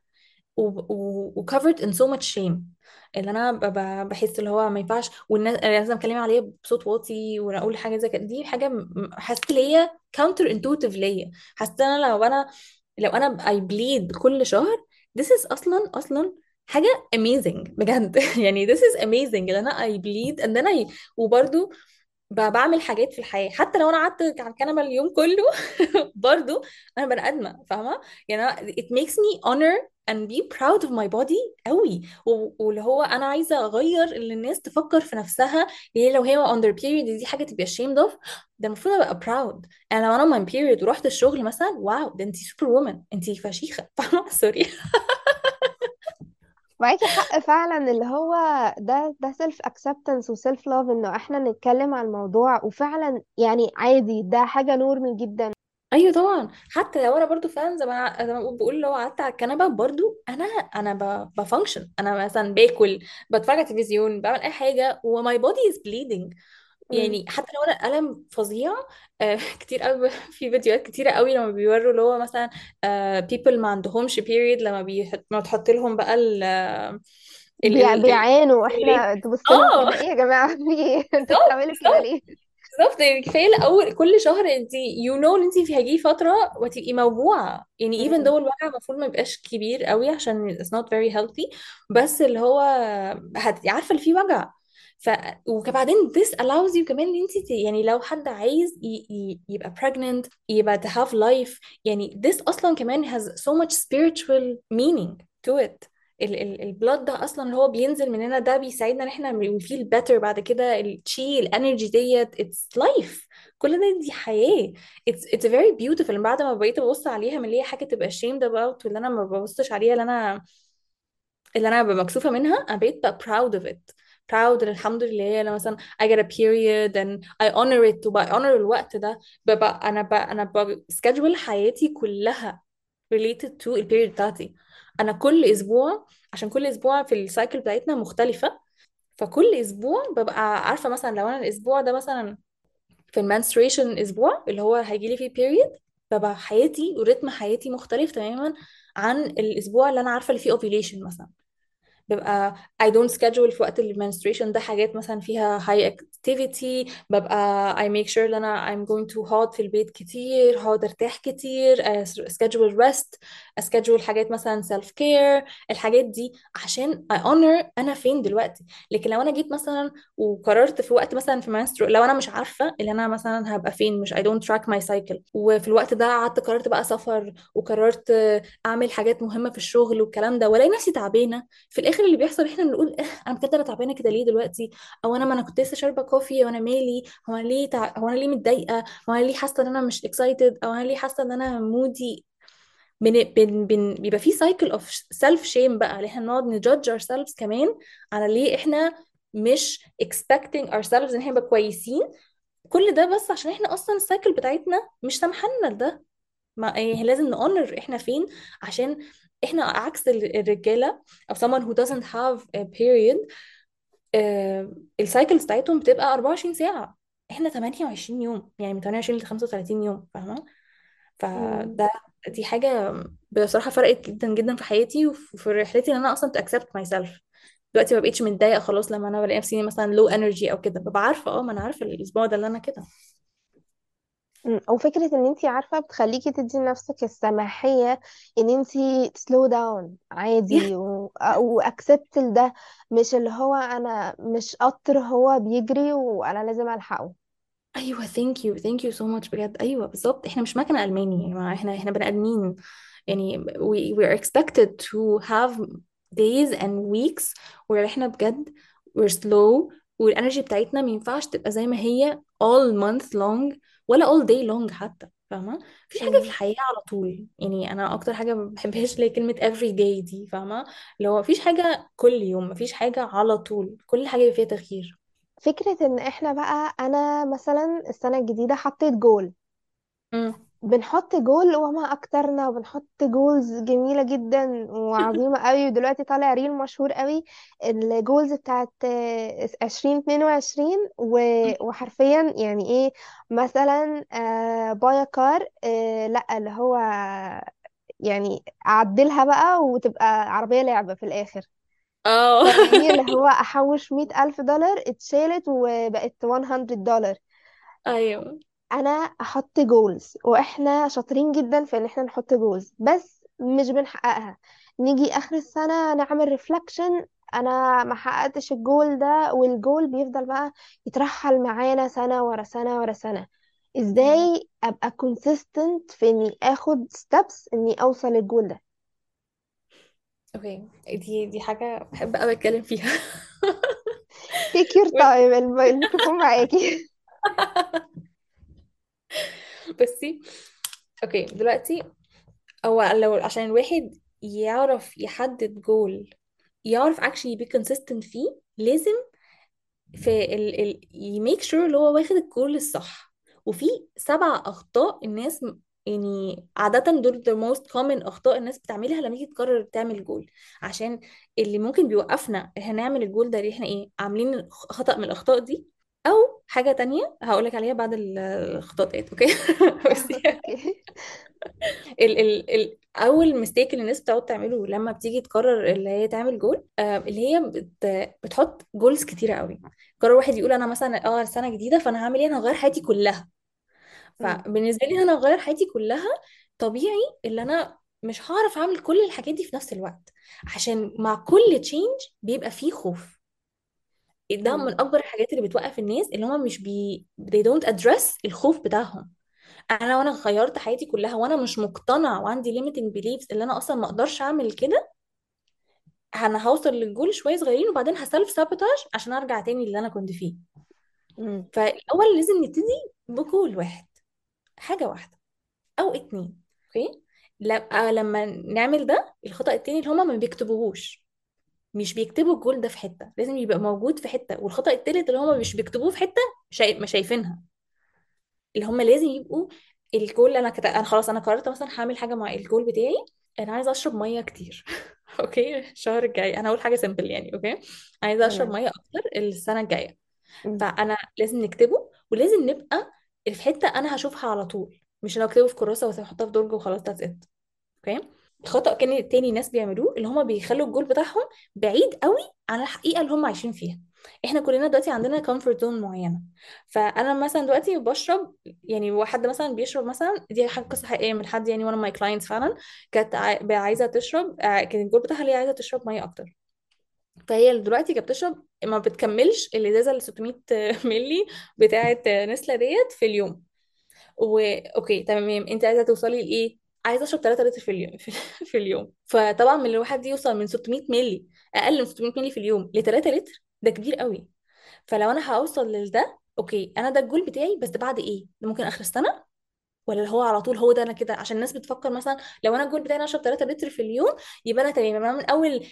و covered in so much shame. اللي انا بحس اللي هو ما ينفعش، والناس لازم اتكلم عليه بصوت واطي ولا اقول حاجه زي كده. دي حاجه حسيت اللي هي counter intuitive ليا. حسيت انا لو انا I bleed كل شهر. this is اصلا حاجه amazing بجد يعني this is amazing ان انا I bleed and then وبرضو بعمل حاجات في الحياة. حتى لو انا قعدت على الكنبة اليوم كله برضو انا بني ادمة فاهمة. يعني it makes me honor and be proud of my body قوي. واللي هو انا عايزة اغير اللي الناس تفكر في نفسها. يعني لو هي on their period دي حاجة تبقى ashamed of، ده المفروض ابقى proud. انا لو انا on my period ورحت الشغل مثلا، واو ده انتي سوبر وومن، انتي فشيخة فاهمة سوري. معاكي حق فعلا، اللي هو ده سيلف اكسبتنس وسيلف لاف، انه احنا نتكلم عن الموضوع، وفعلا يعني عادي، ده حاجة نورمال جدا. ايوه طبعا. حتى لو انا برضو فعلا زي ما بقول، لو قعدت على الكنبه برضو انا بفانكشن. انا مثلا باكل، بتفرج على التلفزيون، بعمل اي حاجه وماي بودي از بليدنج. مم. يعني حتى لو انا الم فظيع. كتير قوي في فيديوهات كتيره قوي لما بيوروا اللي هو مثلا people ما عندهمش period، لما ما تحط لهم بقى ال بيعانوا، واحنا تبص لهم اه كده، ايه يا جماعة في ايه؟ انتوا بالظبط بتعملوا كده بالظبط ليه؟ بالظبط. يعني كفايه الاول كل شهر انت ان انت في هيجي فتره وتبقي موجوعه. يعني even though مم. الوجع المفروض ما يبقاش كبير قوي عشان it's not very healthy. بس اللي هو عارفه اللي فيه وجع. ف وبعدين this allows you كمان ان انت يعني لو حد عايز يبقى pregnant، يبقى to have life. يعني this اصلا كمان has so much spiritual meaning to it. البلاد ده اصلا اللي هو بينزل مننا ده بيساعدنا ان احنا we feel better بعد كده. التشي الانرجي ديت it's life. كل ده دي حياة. it's very beautiful. بعد ما بقيت ابص عليها من اللي هي حاجة تبقى ashamed about، واللي انا ما ببصش عليها، اللي انا ببقى مكسوفة منها، انا بقيت بقى proud of it. proud إن الحمد لله انا مثلا I get a period and I honor it وبقى honor الوقت ده. انا schedule حياتي كلها related to البيريود بتاعتي. انا كل اسبوع، عشان كل اسبوع في السايكل بتاعتنا مختلفة. فكل اسبوع ببقى عارفة مثلا لو انا الاسبوع ده مثلا في المنستريشن اسبوع اللي هو هيجي لي فيه بيريود، ببقى حياتي وريتم حياتي مختلف تماما عن الاسبوع اللي انا عارفة اللي فيه ovulation مثلا. ببقى I don't schedule في وقت المنستريشن ده حاجات مثلا فيها high activity. ببقى I make sure ان انا I'm going to هقعد في البيت كتير، هقعد ارتاح كتير، schedule rest، schedule حاجات مثلا self care، الحاجات دي عشان I honor انا فين دلوقتي. لكن لو انا جيت مثلا وقررت في وقت مثلا في menstrual، لو انا مش عارفه ان انا مثلا هبقى فين، مش I don't track my cycle، وفي الوقت ده قعدت قررت بقى سفر، وقررت اعمل حاجات مهمه في الشغل والكلام ده، والاقي نفسي تعبانه، في الاخر اللي بيحصل احنا بنقول انا بجد انا تعبانه كده ليه دلوقتي، او انا ما انا كنت لسه شاربه كوفي، وانا مالي، هو انا ليه متضايقه، هو انا ليه حاسه ان انا مش اكسايتد، او انا ليه حاسه ان انا مودي. بيبقى في سايكل اوف سيلف شيم بقى، اللي احنا نقعد نجادج اور سيلفز كمان على ليه احنا مش expecting ourselves ان احنا نبقى كويسين. كل ده بس عشان احنا اصلا السايكل بتاعتنا مش سامحانا لده. ما إيه، لازم نقرر احنا فين، عشان احنا عكس الرجاله او someone who doesn't have a period. السايكلز بتاعتهم بتبقى 24 ساعه، احنا 28 يوم، يعني من 28 ل 35 يوم، فاهمه؟ مم. فده دي حاجه بصراحه فرقت جدا جدا في حياتي وفي رحلتي ان انا اصلا to accept myself. دلوقتي ما بقتش متضايقه خلاص لما انا بلاقي نفسي مثلا low energy او كده، ببقى عارفه ما انا عارفه الاسبوع ده اللي انا كده. او فكره ان انت عارفه بتخليكي تدي لنفسك السماحيه ان انت سلو داون عادي واكسبت ده، مش اللي هو انا مش قطر هو بيجري وانا لازم الحقه. ايوه ثانك يو ثانك يو سو ماتش بجد، ايوه بالظبط، احنا مش مكنه الماني يا جماعه، احنا بني ادمين. يعني we are expected to have days and weeks where احنا بجد we're slow، والانرجي بتاعتنا ما ينفعش تبقى زي ما هي all month long ولا all day long حتى، فاهمه؟ مفيش حاجه في مم. الحياه على طول. يعني انا اكتر حاجه ما بحبهاش اللي هي كلمه every day دي، فاهمه؟ اللي هو مفيش حاجه كل يوم، مفيش حاجه على طول، كل حاجه فيها تغيير. فكره ان احنا بقى انا مثلا السنه الجديده حطيت جول، امم. بنحط جول وما اكترنا، وبنحط جولز جميله جدا وعظيمه قوي، ودلوقتي طالع ريل مشهور قوي الجولز بتاعت 2022 وحرفيا يعني ايه، مثلا بايا كار، لا اللي هو يعني اعدلها بقى وتبقى عربيه لعبه في الاخر. اه. فاهماني؟ اللي هو احوش 100,000 دولار اتشالت وبقت $100. ايوه. انا احط جولز، واحنا شاطرين جدا في ان احنا نحط جولز بس مش بنحققها. نيجي اخر السنة نعمل ريفلكشن، انا ما حققتش الجول ده، والجول بيفضل بقى يترحل معانا سنة ورا سنة ورا سنة. ايوه. ازاي ابقى consistent في اني اخد steps اني اوصل للجول ده؟ اوكي، دي حاجة بحب قوي اتكلم فيها. take your بصي. time، الميكروفون معاكي. بصي، اوكي دلوقتي هو لو عشان الواحد يعرف يحدد جول، يعرف actually be consistent فيه، لازم في يميك شور اللي هو واخد الجول الصح. وفي 7 أخطاء الناس يعني عادة دول the most common أخطاء الناس بتعملها لما تيجي تقرر تعمل جول. عشان اللي ممكن بيوقفنا إن احنا نعمل الجول ده، اللي احنا ايه عاملين خطأ من الأخطاء دي، أو حاجة تانية هقولك عليها بعد الأخطاء ديت، أوكي؟ بس اوكي. اول ميستيك اللي الناس بتقعد تعمله لما بتيجي تقرر اللي هي تعمل جول، اللي هي بتحط جولز كتيره قوي. قرر واحد يقول انا مثلا سنه جديده فانا هعمل ايه، انا هغير حياتي كلها. مم. فبالنسبه لي انا هغير حياتي كلها، طبيعي اللي انا مش هعرف اعمل كل الحاجات دي في نفس الوقت، عشان مع كل تشينج بيبقى فيه خوف. ده مم. من اكبر الحاجات اللي بتوقف الناس، اللي هم مش they don't address الخوف بتاعهم. انا وانا غيرت حياتي كلها وانا مش مقتنع وعندي limiting beliefs اللي انا اصلا ما اقدرش اعمل كده، انا هوصل للجول شويه صغيرين وبعدين هسلف سابوتاج عشان ارجع تاني اللي انا كنت فيه. مم. فالاول لازم نبتدي بجول واحد، حاجه واحده او اتنين. اوكي. لما نعمل ده، الخطأ التاني اللي هما ما بيكتبوهوش، مش بيكتبوا الجول ده في حته، لازم يبقى موجود في حته. والخطأ التالت اللي هما مش بيكتبوه في حته، ما شايفينها، اللي هم لازم يبقوا الجول. انا خلاص انا قررت مثلا هعمل حاجه مع الجول بتاعي، انا عايزه اشرب ميه كتير. اوكي الشهر الجاي انا هقول حاجه سيمبل يعني، اوكي عايزه اشرب تمام. ميه اكتر السنه الجايه. مم. فانا لازم نكتبه، ولازم نبقى في حته انا هشوفها على طول، مش لو اكتبه في كراسه واحطها في درج وخلاص ذاتس ات. اوكي. خطأ كان التاني ناس بيعملوه، اللي هما بيخلوا الجول بتاعهم بعيد قوي عن الحقيقة اللي هم عايشين فيها. احنا كلنا دلوقتي عندنا كومفورت زون معينة. فانا مثلا دلوقتي بشرب، يعني واحد مثلا بيشرب مثلا، دي حاجة قصة حقيقية من حد يعني، one of my clients فعلا كانت عايزة تشرب، كان الجول بتاعها اللي هي عايزة تشرب مية اكتر. فهي دلوقتي كانت بتشرب ما بتكملش الازازة ال 600 ملي بتاعة نسلة ديت في اليوم. اوكي تمام، انت عايزه توصلي لايه؟ عايزه اشرب 3 لتر في اليوم في اليوم. فطبعا من الواحد دي يوصل من 600 مللي، اقل من 600 مللي في اليوم ل 3 لتر، ده كبير قوي. فلو انا هوصل لده، اوكي انا ده الجول بتاعي، بس ده بعد ايه؟ ده ممكن اخر السنه، ولا اللي هو على طول هو ده انا كده؟ عشان الناس بتفكر مثلا لو انا الجول بتاعي انا اشرب 3 لتر في اليوم، يبقى انا تمام، انا من اول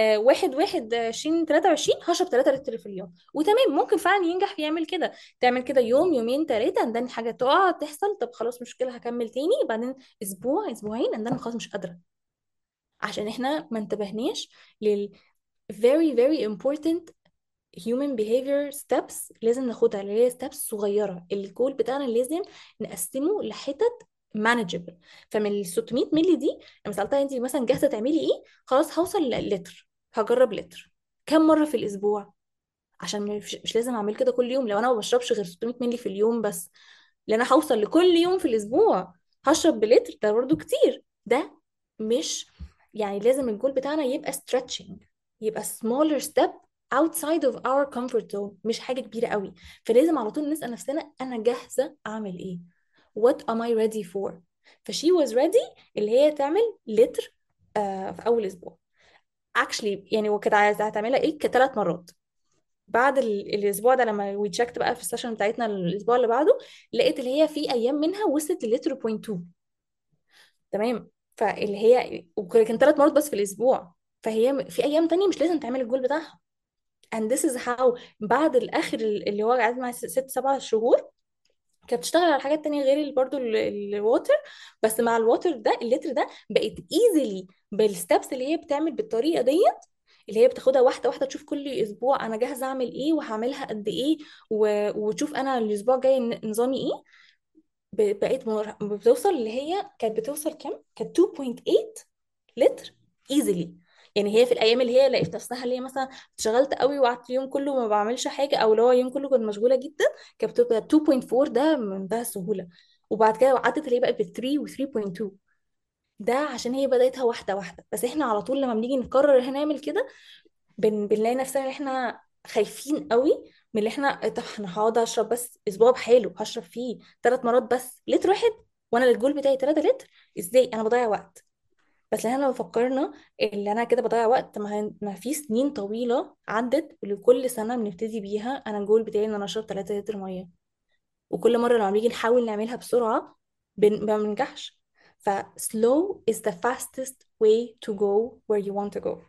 1/1/2023 هشرب 3 لتر في اليوم وتمام. ممكن فعلا ينجح يعمل كده، تعمل كده يوم يومين ثلاثه، عندن حاجه تقع تحصل، طب خلاص مشكله هكمل تاني، بعدين اسبوع اسبوعين عندنا خلاص مش قادره. عشان احنا ما انتبهناش لل very very important human behavior steps لازم ناخدها، اللي هي steps صغيرة. الجول بتاعنا لازم نقسمه لحتت manageable. فمن ال 600 مللي دي، لما سألتها انت مثلا جاهزة تعملي ايه، خلاص هوصل للتر، هجرب لتر. كم مرة في الأسبوع؟ عشان مش لازم اعمل كده كل يوم، لو انا ما بشربش غير 600 مللي في اليوم بس، لان انا هوصل لكل يوم في الاسبوع هشرب بلتر، ده برضو كتير. ده مش يعني لازم الجول بتاعنا يبقى stretching، يبقى smaller step outside of our comfort zone، مش حاجة كبيرة قوي. فلازم على طول نسأل نفسنا انا جاهزة اعمل ايه؟ what am I ready for؟ فشي was ready اللي هي تعمل لتر في اول اسبوع. actually يعني وكانت عايزة هتعملها ايه كثلاث مرات. بعد الاسبوع ده لما وي تشيكت بقى في السيشن بتاعتنا الاسبوع اللي بعده، لقيت اللي هي في ايام منها وصلت للتر بوينت 2. تمام. فاللي هي كان ثلاث مرات بس في الاسبوع، فهي في ايام تانية مش لازم تعمل الجول بتاعها. and this is how بعد الاخر اللي هو قعد معايا ست سبع شهور، كانت بتشتغل على حاجات تانية غير برضو الووتر. بس مع الووتر ده اللتر ده بقت ايزيلي بالستبس اللي هي بتعمل بالطريقة دي، اللي هي بتاخدها واحدة واحدة، تشوف كل أسبوع أنا جاهزة أعمل إيه وهعملها قد إيه، وتشوف أنا الأسبوع الجاي نظامي إيه. بقيت بتوصل اللي هي كانت بتوصل كام؟ كانت 2.8 لتر ايزيلي. يعني هي في الايام اللي هي لقيت نفسها اللي هي مثلا اشتغلت قوي وقعدت اليوم كله ما بعملش حاجه، او اللي هو اليوم كله كنت مشغوله جدا، كانت بتبقى 2.4، ده بمنتهى السهوله. وبعد كده عدت اللي هي بقت ب 3 و 3.2. ده عشان هي بدايتها واحده واحده. بس احنا على طول لما بنيجي نقرر هنعمل كده، بنلاقي نفسنا ان احنا خايفين قوي من اللي احنا طب انا هقعد اشرب بس اسبوع بحاله هشرب فيه ثلاث مرات بس لتر واحد، وانا الجول بتاعي 3 لتر، ازاي انا بضيع وقت؟ بس احنا لو فكرنا اللي انا كده بضيع وقت، ما في سنين طويله عدت لكل سنه بنبتدي بيها انا الجول بتاعي ان انا اشرب 3 لتر ميه، وكل مره لما بنيجي نحاول نعملها بسرعه ما بننجحش. ف slow is the fastest way to go where you want to go.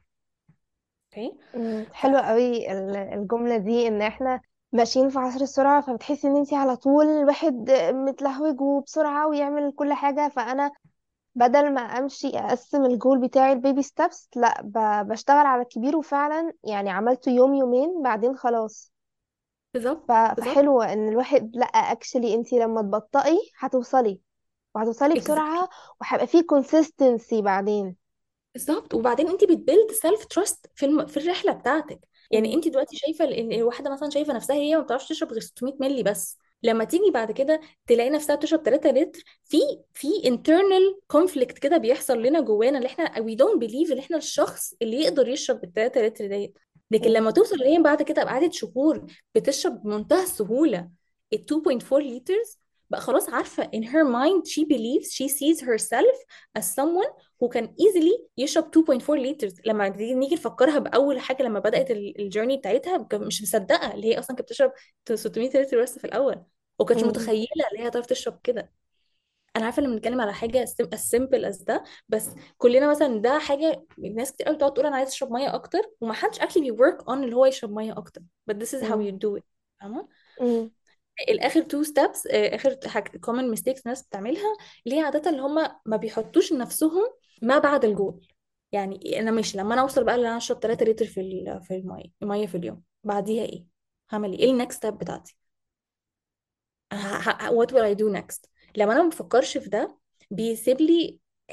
اوكي. حلوة قوي الجملة دي، ان احنا ماشيين في عصر السرعة، فبتحسي ان انتي على طول الواحد متلهوج وبسرعة ويعمل كل حاجة. فانا بدل ما امشي اقسم الجول بتاعي البيبي ستابس، لا بشتغل على الكبير، وفعلا يعني عملته يوم يومين بعدين خلاص. بالظبط بالظبط. فحلو ان الواحد، لا اكشلي انتي لما تبطئي هتوصلي، وهتوصلي بسرعة، وهيبقى فيه consistency بعدين. بالظبط. وبعدين انت بتبيلد سيلف تراست في الرحله بتاعتك. يعني مم. انت دلوقتي شايفه ان واحده مثلا شايفه نفسها هي ما بتعرفش تشرب غير 600 مللي بس، لما تيجي بعد كده تلاقي نفسها بتشرب 3 لتر، في internal conflict كده بيحصل لنا جوانا، اللي احنا we don't believe ان احنا الشخص اللي يقدر يشرب بال 3 لتر ديت. لكن مم. لما توصل اللي هي بعد كده بعد شهور بتشرب بمنتهى السهوله ال 2.4 liters، بقى خلاص عارفه in her mind she believes she sees herself as someone who can easily يشرب 2.4 liters. لما نيجي نفكرها باول حاجه لما بدات الجيرني بتاعتها، مش مصدقه اللي هي اصلا كانت بتشرب 600 لتر بس في الاول، وكانتش مم. متخيله اللي هي هتعرف تشرب كده. انا عارفه ان بنتكلم على حاجه as simple as ده، بس كلنا مثلا ده حاجه ناس كتير قوي بتقعد تقول انا عايز اشرب ميه اكتر، وما حدش actually work on اللي هو يشرب ميه اكتر. but this is how مم. you do it. فاهمه؟ مم. الاخر تو ستابس، اخر حاجه common mistakes الناس بتعملها، اللي هي عاده اللي هم ما بيحطوش لنفسهم ما بعد الجول. يعني انا مش لما انا اوصل بقى ان انا اشرب 3 لتر في الميه في اليوم، بعديها ايه؟ هعمل ايه النكست ستيب بتاعتي؟ what will I do next؟ لما انا ما بفكرش في ده، بيسيب لي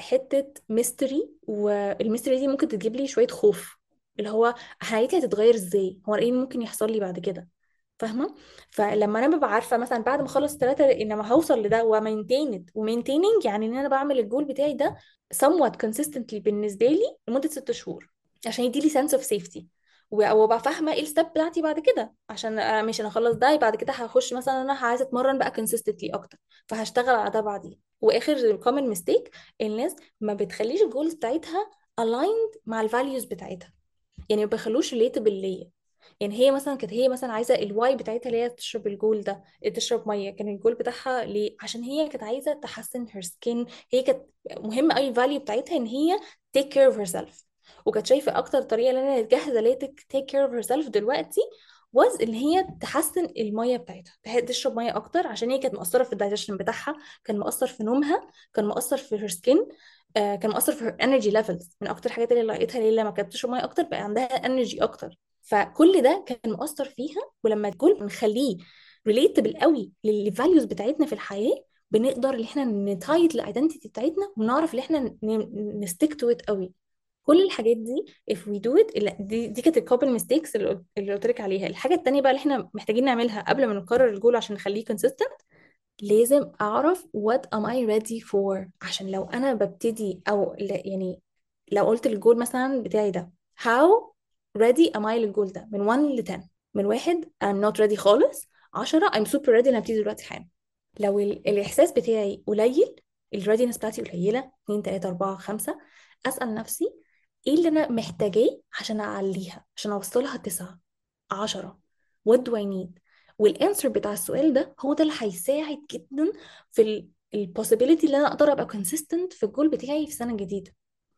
حته ميستري، والميستري دي ممكن تجيب لي شويه خوف، اللي هو حياتي هتتغير ازاي، هو ايه اللي ممكن يحصل لي بعد كده، فاهمه؟ فلما انا ببقى عارفه مثلا بعد ما اخلص ثلاثه انما هوصل لده ومينتيننج، يعني ان انا بعمل الجول بتاعي ده somewhat consistently بالنسبه لي لمده 6 شهور، عشان يديلي sense of safety، وابقى فاهمه ايه الستep بتاعتي بعد كده، عشان انا مش، انا اخلص ده بعد كده هخش مثلا انا عايزه اتمرن بقى consistently اكتر، فهشتغل على ده بعدين. واخر common mistake، الناس ما بتخليش الجولز بتاعتها aligned مع الفاليوز بتاعتها، يعني ما بيخلوش relatable ليا. يعني هي مثلا كانت هي مثلا عايزه الواي بتاعتها اللي هي تشرب الجول ده، تشرب ميه، كان الجول بتاعها ليه؟ عشان هي كانت عايزه تحسن her skin، هي كانت مهم قوي الفاليو بتاعتها ان هي take care of herself، وكانت شايفه اكتر طريقه ان انا جاهزه ليه take care of herself دلوقتي was ان هي تحسن الميه بتاعتها، تشرب ميه اكتر، عشان هي كانت مقصره في الدايجيشن بتاعها، كان مقصر في نومها، كان مقصر في her skin، كان مؤثر في energy levels، من اكتر الحاجات اللي لقيتها ليه لما كانت بتشرب ميه اكتر بقى عندها energy اكتر، فكل ده كان مؤثر فيها. ولما الجول بنخليه ريليتبل قوي للفاليوز بتاعتنا في الحياه، بنقدر ان احنا نتايت الايدنتيتي بتاعتنا، ونعرف ان احنا نستيك تو ات قوي. كل الحاجات دي if we do it دي كانت الكوبل ميستيكس اللي قلت لك عليها. الحاجه التانيه بقى اللي احنا محتاجين نعملها قبل ما نقرر الجول عشان نخليه consistent، لازم اعرف what am I ready for، عشان لو انا ببتدي او يعني لو قلت الجول مثلا بتاعي ده how ready am I للجول ده من 1 ل 10، من 1 I'm not ready خالص، 10 I'm super ready انا ابتدي دلوقتي حالا. لو الاحساس بتاعي قليل، الريدينس بتاعتي قليله 2 3 4 5، اسال نفسي ايه اللي انا محتاجاه عشان اعليها، عشان اوصلها 9 10، what do I need؟ والانسر بتاع السؤال ده هو ده اللي هيساعد جدا في البوسيبيليتي اللي انا اقدر ابقى consistent في الجول بتاعي في سنة جديدة.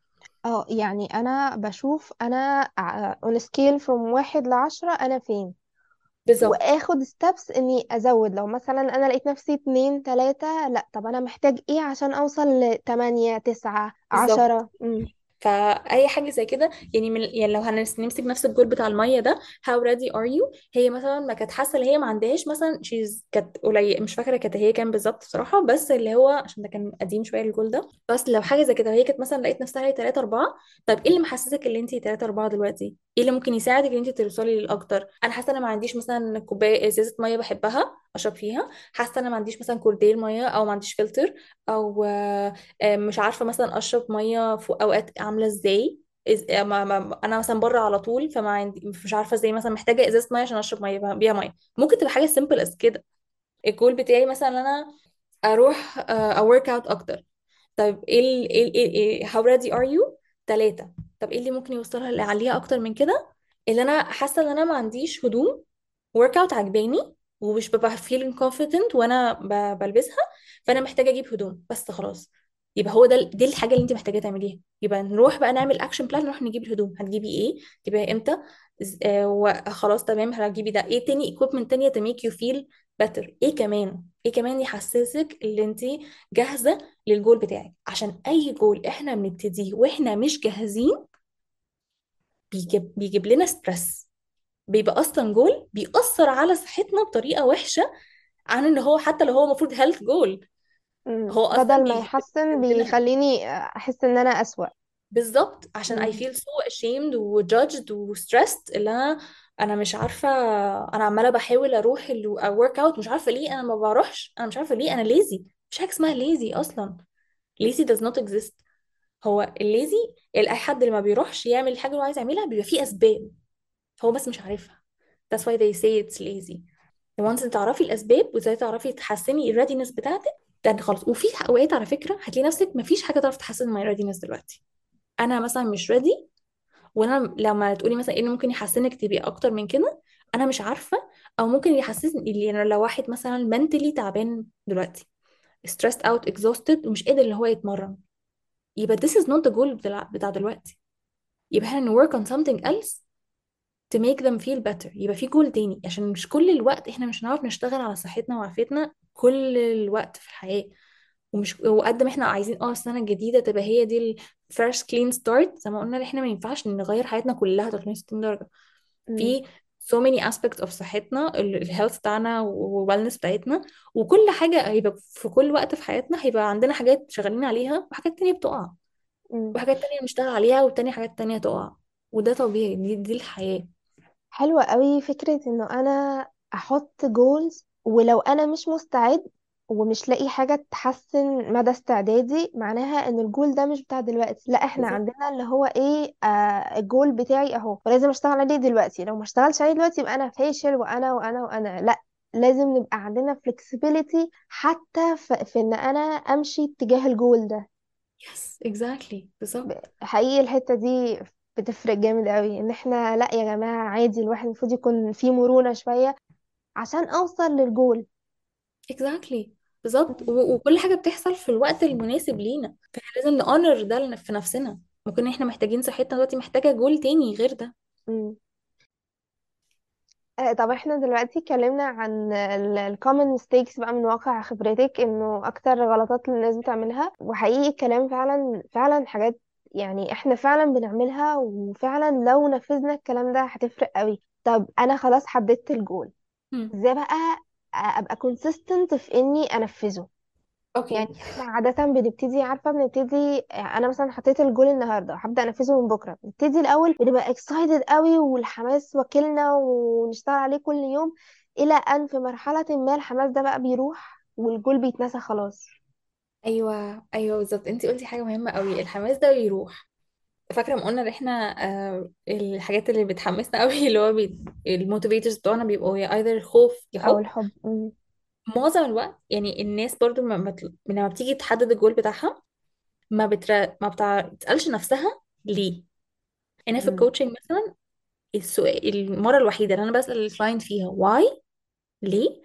اه يعني انا بشوف انا on a scale from 1 ل10 انا فين، بالظبط. واخد steps اني ازود. لو مثلا انا لقيت نفسي 2 3، لا طب انا محتاج ايه عشان اوصل ل8 9 10. بالظبط. فاي حاجه زي كده، يعني يعني لو هنمسك نفس الجول بتاع الميه ده how ready are you، هي مثلا ما كانت حاسه ان هي ما عندهاش مثلا كانت قليل، مش فاكره كانت هي كام بالظبط بصراحه، بس اللي هو عشان ده كان قديم شويه الجول ده، بس لو حاجه زي كده هي كانت مثلا لقيت نفسها هي 3 4، طب ايه اللي محسسك ان انت 3 4 دلوقتي؟ ايه اللي ممكن يساعدك ان انت توصلي للاكتر؟ انا حاسه انا ما عنديش مثلا كوبايه ازازه ميه بحبها اشرب فيها، حاسه انا ما عنديش مثلا كوردير ميه، او ما عنديش فلتر، او مش عارفه مثلا اشرب ميه في اوقات عامله ازاي، انا مثلا بره على طول، فما عندي مش عارفه ازاي مثلا محتاجه ازازه ميه عشان اشرب ميه بيها ميه. ممكن تبقى حاجه سيمبل از كده. الجول بتاعي مثلا ان انا اروح اورك اوت اكتر، طيب ايه how ready are you 3، طب ايه اللي ممكن يوصلها اللي عليها اكتر من كده؟ اللي انا حاسه ان انا ما عنديش هدوم ورك اوت عجباني، ومش ببقى feeling confident وانا بلبسها، فانا محتاجه اجيب هدوم بس خلاص. يبقى هو ده دي الحاجه اللي انت محتاجه تعمليها، يبقى نروح بقى نعمل اكشن بلان، نروح نجيب الهدوم. هتجيبي ايه؟ تجيبيها امتى؟ وخلاص تمام هتجيبي ده. ايه تاني equipment تانية to make you feel better؟ ايه كمان؟ ايه كمان يحسسك ان انت جاهزه للجول بتاعك؟ عشان اي جول احنا بنبتديه واحنا مش جاهزين بيجيب لنا ستريس، بيبقى اصلا جول بيأثر على صحتنا بطريقه وحشه، عن ان هو حتى لو هو المفروض هيلث جول، هو اصلا بدل ما يحسن بيجيب لنا. بيخليني احس ان انا اسوأ. بالظبط، عشان I مم. feel so ashamed و judged و stressed، اللي انا مش عارفه، انا عماله بحاول اروح الورك اوت، مش عارفه ليه انا ما بروحش، انا مش عارفه ليه انا lazy. مش حاجه اسمها lazy اصلا، lazy does not exist. هو الليزي اي حد اللي ما بيروحش يعمل الحاجه اللي هو عايز يعملها بيبقى فيه اسباب، هو بس مش عارفها. that's why they say it's lazy. once انت تعرفي الاسباب وازاي تعرفي تحسني الريدينس بتاعتك، ده انت خلاص. وفي اوقات على فكره هتلاقي نفسك مفيش حاجه تعرف تحسن ماي ريدينس دلوقتي، انا مثلا مش ريدي، وانا لما تقولي مثلا ايه اللي ممكن يحسنك تبقي اكتر من كده، انا مش عارفه. او ممكن يحسسني اللي انا لو واحد مثلا mentally تعبان دلوقتي stressed out exhausted ومش قادر اللي هو يتمرن، يبقى this is not the goal بتاع دلوقتي. يبقى احنا ن work on something else to make them feel better، يبقى في جول تاني، عشان مش كل الوقت احنا مش هنعرف نشتغل على صحتنا وعافيتنا كل الوقت في الحياة. وقد ما احنا عايزين السنة الجديدة تبقى هي دي ال first clean start، زي ما قلنا احنا ما ينفعش نغير حياتنا كلها 360 درجة. مم. في so many aspects of صحتنا، الهيلث بتاعنا والوالنس بتاعتنا، وكل حاجة هيبقى في كل وقت في حياتنا هيبقى عندنا حاجات شغالين عليها وحاجات تانية بتقع، مم. وحاجات تانية بنشتغل عليها والتانية حاجات تانية تقع. وده طبيعي، دي الحياة. حلوة قوي فكرة انه انا احط جولز، ولو انا مش مستعد ومش لاقي حاجة تحسن مدى استعدادي، معناها ان الجول ده مش بتاع دلوقتي. لا، احنا بالظبط. عندنا اللي هو ايه، الجول بتاعي اهو ولازم اشتغل عليه دلوقتي. لو ما اشتغلش عليه دلوقتي يبقى انا فاشل، وانا لا، لازم نبقى عندنا flexibility حتى في ان انا امشي اتجاه الجول ده. يس اكزاكتلي بالظبط. حقيقي الحتة دي بتفرق جامد قوي، ان احنا لا يا جماعة عادي، الواحد المفروض يكون فيه مرونة شوية عشان اوصل للجول. اكزاكتلي بالظبط. وكل حاجة بتحصل في الوقت المناسب لينا، فاحنا لازم نأونر ده في نفسنا. ممكن احنا محتاجين صحتنا دلوقتي محتاجة جول تاني غير ده. مم. طب احنا دلوقتي اتكلمنا عن ال common mistakes بقى من واقع خبرتك، انه اكتر غلطات اللي الناس بتعملها، وحقيقي الكلام فعلا فعلا حاجات يعني احنا فعلا بنعملها، وفعلا لو نفذنا الكلام ده هتفرق قوي. طب انا خلاص حددت الجول، مم. ازاي بقى ابقى consistent في اني انفذه؟ يعني اوكي. احنا عادة بنبتدي، عارفة بنبتدي، انا مثلا حطيت الجول النهاردة هبدأ انفذه من بكرة، بنبتدي الاول بنبقى excited قوي والحماس واكلنا ونشتغل عليه كل يوم، الى ان في مرحلة ما الحماس ده بقى بيروح والجول بيتنسى خلاص. ايوه ايوه بالظبط، انتي قلتي حاجة مهمة قوي، الحماس ده بيروح. فاكرة ما قلنا ان احنا الحاجات اللي بتحمسنا قوي اللي هو الموتيفيتورز بتوعنا بيبقوا يا ايذر خوف يا او حب. الحب. معظم الوقت يعني الناس برضو لما بتيجي تحدد الجول بتاعها ما بتسألش نفسها ليه. انا في مم. الكوتشنج مثلا السؤال المره الوحيده اللي انا بسأل الكلاينت فيها واي، ليه،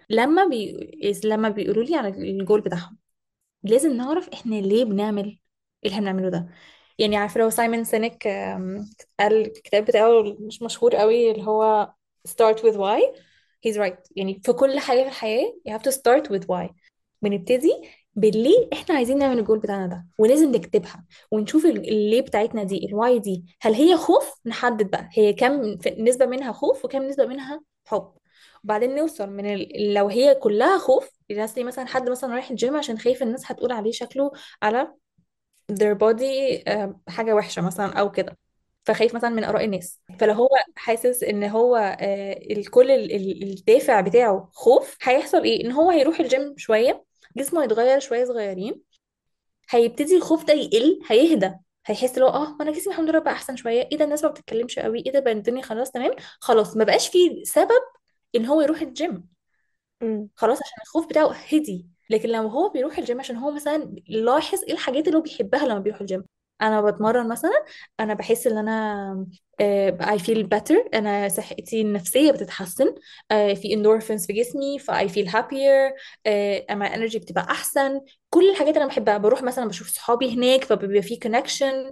لما بيقولوا لي على الجول بتاعهم، لازم نعرف احنا ليه بنعمل اللي احنا بنعمله ده. يعني عارفه لو سايمون سينيك قال الكتاب بتاعه مش مشهور قوي اللي هو start with why. he's right، يعني في كل حاجه في الحياه you have to start with why. بنبتدي بالليه احنا عايزين نعمل الجول بتاعنا ده، ولازم نكتبها ونشوف الليه بتاعتنا دي الواي دي هل هي خوف، نحدد بقى هي كم نسبه منها خوف وكم نسبه منها حب. وبعدين نوصل من لو هي كلها خوف، الناس دي مثلا حد مثلا رايح الجيم عشان خايف الناس هتقول عليه شكله على their body حاجة وحشة مثلا أو كده، فخايف مثلا من آراء الناس. فلو هو حاسس ان هو الكل الدافع بتاعه خوف، هيحصل ايه؟ ان هو هيروح الجيم شوية، جسمه هيتغير شوية صغيرين، هيبتدي الخوف ده يقل، هيهدى، هيحس لو انا جسمي الحمد لله بقى احسن شويه، ايه ده الناس ما بتتكلمش قوي، ايه ده بقى الدنيا خلاص تمام، خلاص ما بقاش في سبب ان هو يروح الجيم، مم. خلاص عشان الخوف بتاعه هدي. لكن لو هو بيروح الجيم عشان هو مثلا لاحظ ايه الحاجات اللي هو بيحبها لما بيروح الجيم، انا بتمرن مثلا، انا بحس ان انا I feel better، انا صحتي النفسيه بتتحسن، في endorphins في جسمي ف I feel happier، اما energy بتبقى احسن. كل الحاجات اللي انا بحبها، بروح مثلا بشوف صحابي هناك فبيبقى في connection.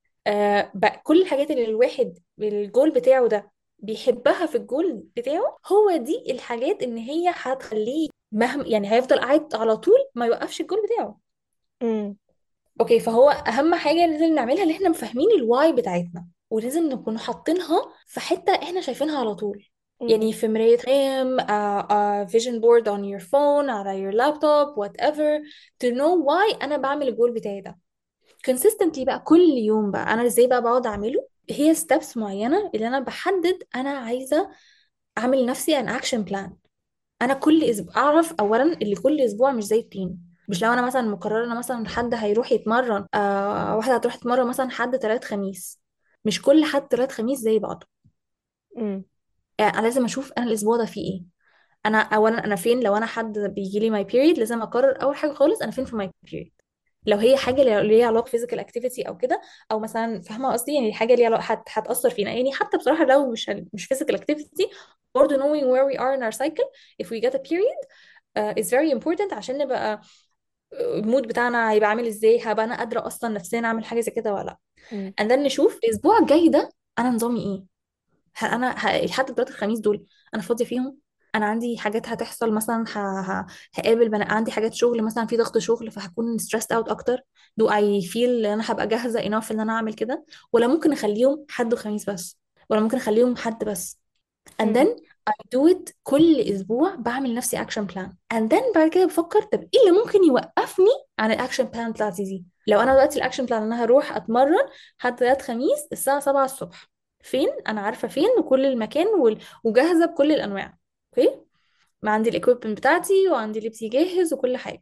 بقى كل الحاجات اللي الواحد الجول بتاعه ده بيحبها في الجول بتاعه، هو دي الحاجات ان هي هتخليه مهما يعني هيفضل قاعد على طول ما يوقفش الجول بتاعه. مم. اوكي، فهو اهم حاجة لازم نعملها ان احنا فاهمين الواي بتاعتنا، ولازم نكون حاطينها في حتة احنا شايفينها على طول. مم. يعني في مراية رام، vision board on your phone، على your laptop whatever، to know why انا بعمل الجول بتاعي ده consistently بقى كل يوم. بقى انا ازاي بقى بقعد اعمله، هي steps معينة اللي انا بحدد انا عايزة اعمل لنفسي an action plan. انا كل اسبوع اعرف اولا اللي كل اسبوع مش زي التاني. مش لو انا مثلا مقررة انا مثلا حد هيروح يتمرن واحدة هتروح تتمرن مثلا حد تلات خميس، مش كل حد تلات خميس زي بعضه. مم. انا لازم اشوف انا الاسبوع ده فيه ايه. انا اولا انا فين، لو انا حد بيجي لي ماي بيريد لازم اقرر اول حاجة خالص انا فين في ماي بيريد. لو هي حاجه ليها علاقه فيزيكال اكتيفيتي او كده، او مثلا فاهمه قصدي يعني حاجه ليها هتاثر فينا، يعني حتى بصراحه لو مش فيزيكال اكتيفيتي، برضه knowing where we are in our cycle if we get a period is very important عشان نبقى المود بتاعنا هيبقى عامل ازاي، هبقى انا قادره اصلا نفسيا اعمل حاجه زي كده ولا لا. مم. and then نشوف الاسبوع الجاي ده انا نظامي ايه. لحد دلوقتي الخميس دول انا فاضيه فيهم، انا عندي حاجات هتحصل مثلا هقابل عندي حاجات شغل مثلا في ضغط شغل فهكون stressed out اكتر. do I feel ان انا هبقى جاهزه enough ان انا اعمل كده، ولا ممكن اخليهم حد وخميس بس، ولا ممكن اخليهم حد بس. and مم. then I do it كل اسبوع، بعمل نفسي اكشن بلان. and then بعد كده بفكر طب ايه اللي ممكن يوقفني عن الاكشن بلان بتاعتي دي. لو انا دلوقتي الاكشن بلان ان انا هروح اتمرن حد ثلاث خميس الساعه 7 الصبح، فين انا عارفه فين وكل المكان وجاهزه بكل الانواع. اوكي، ما عندي الاكويبمنت بتاعتي وعندي لبسي جاهز وكل حاجه.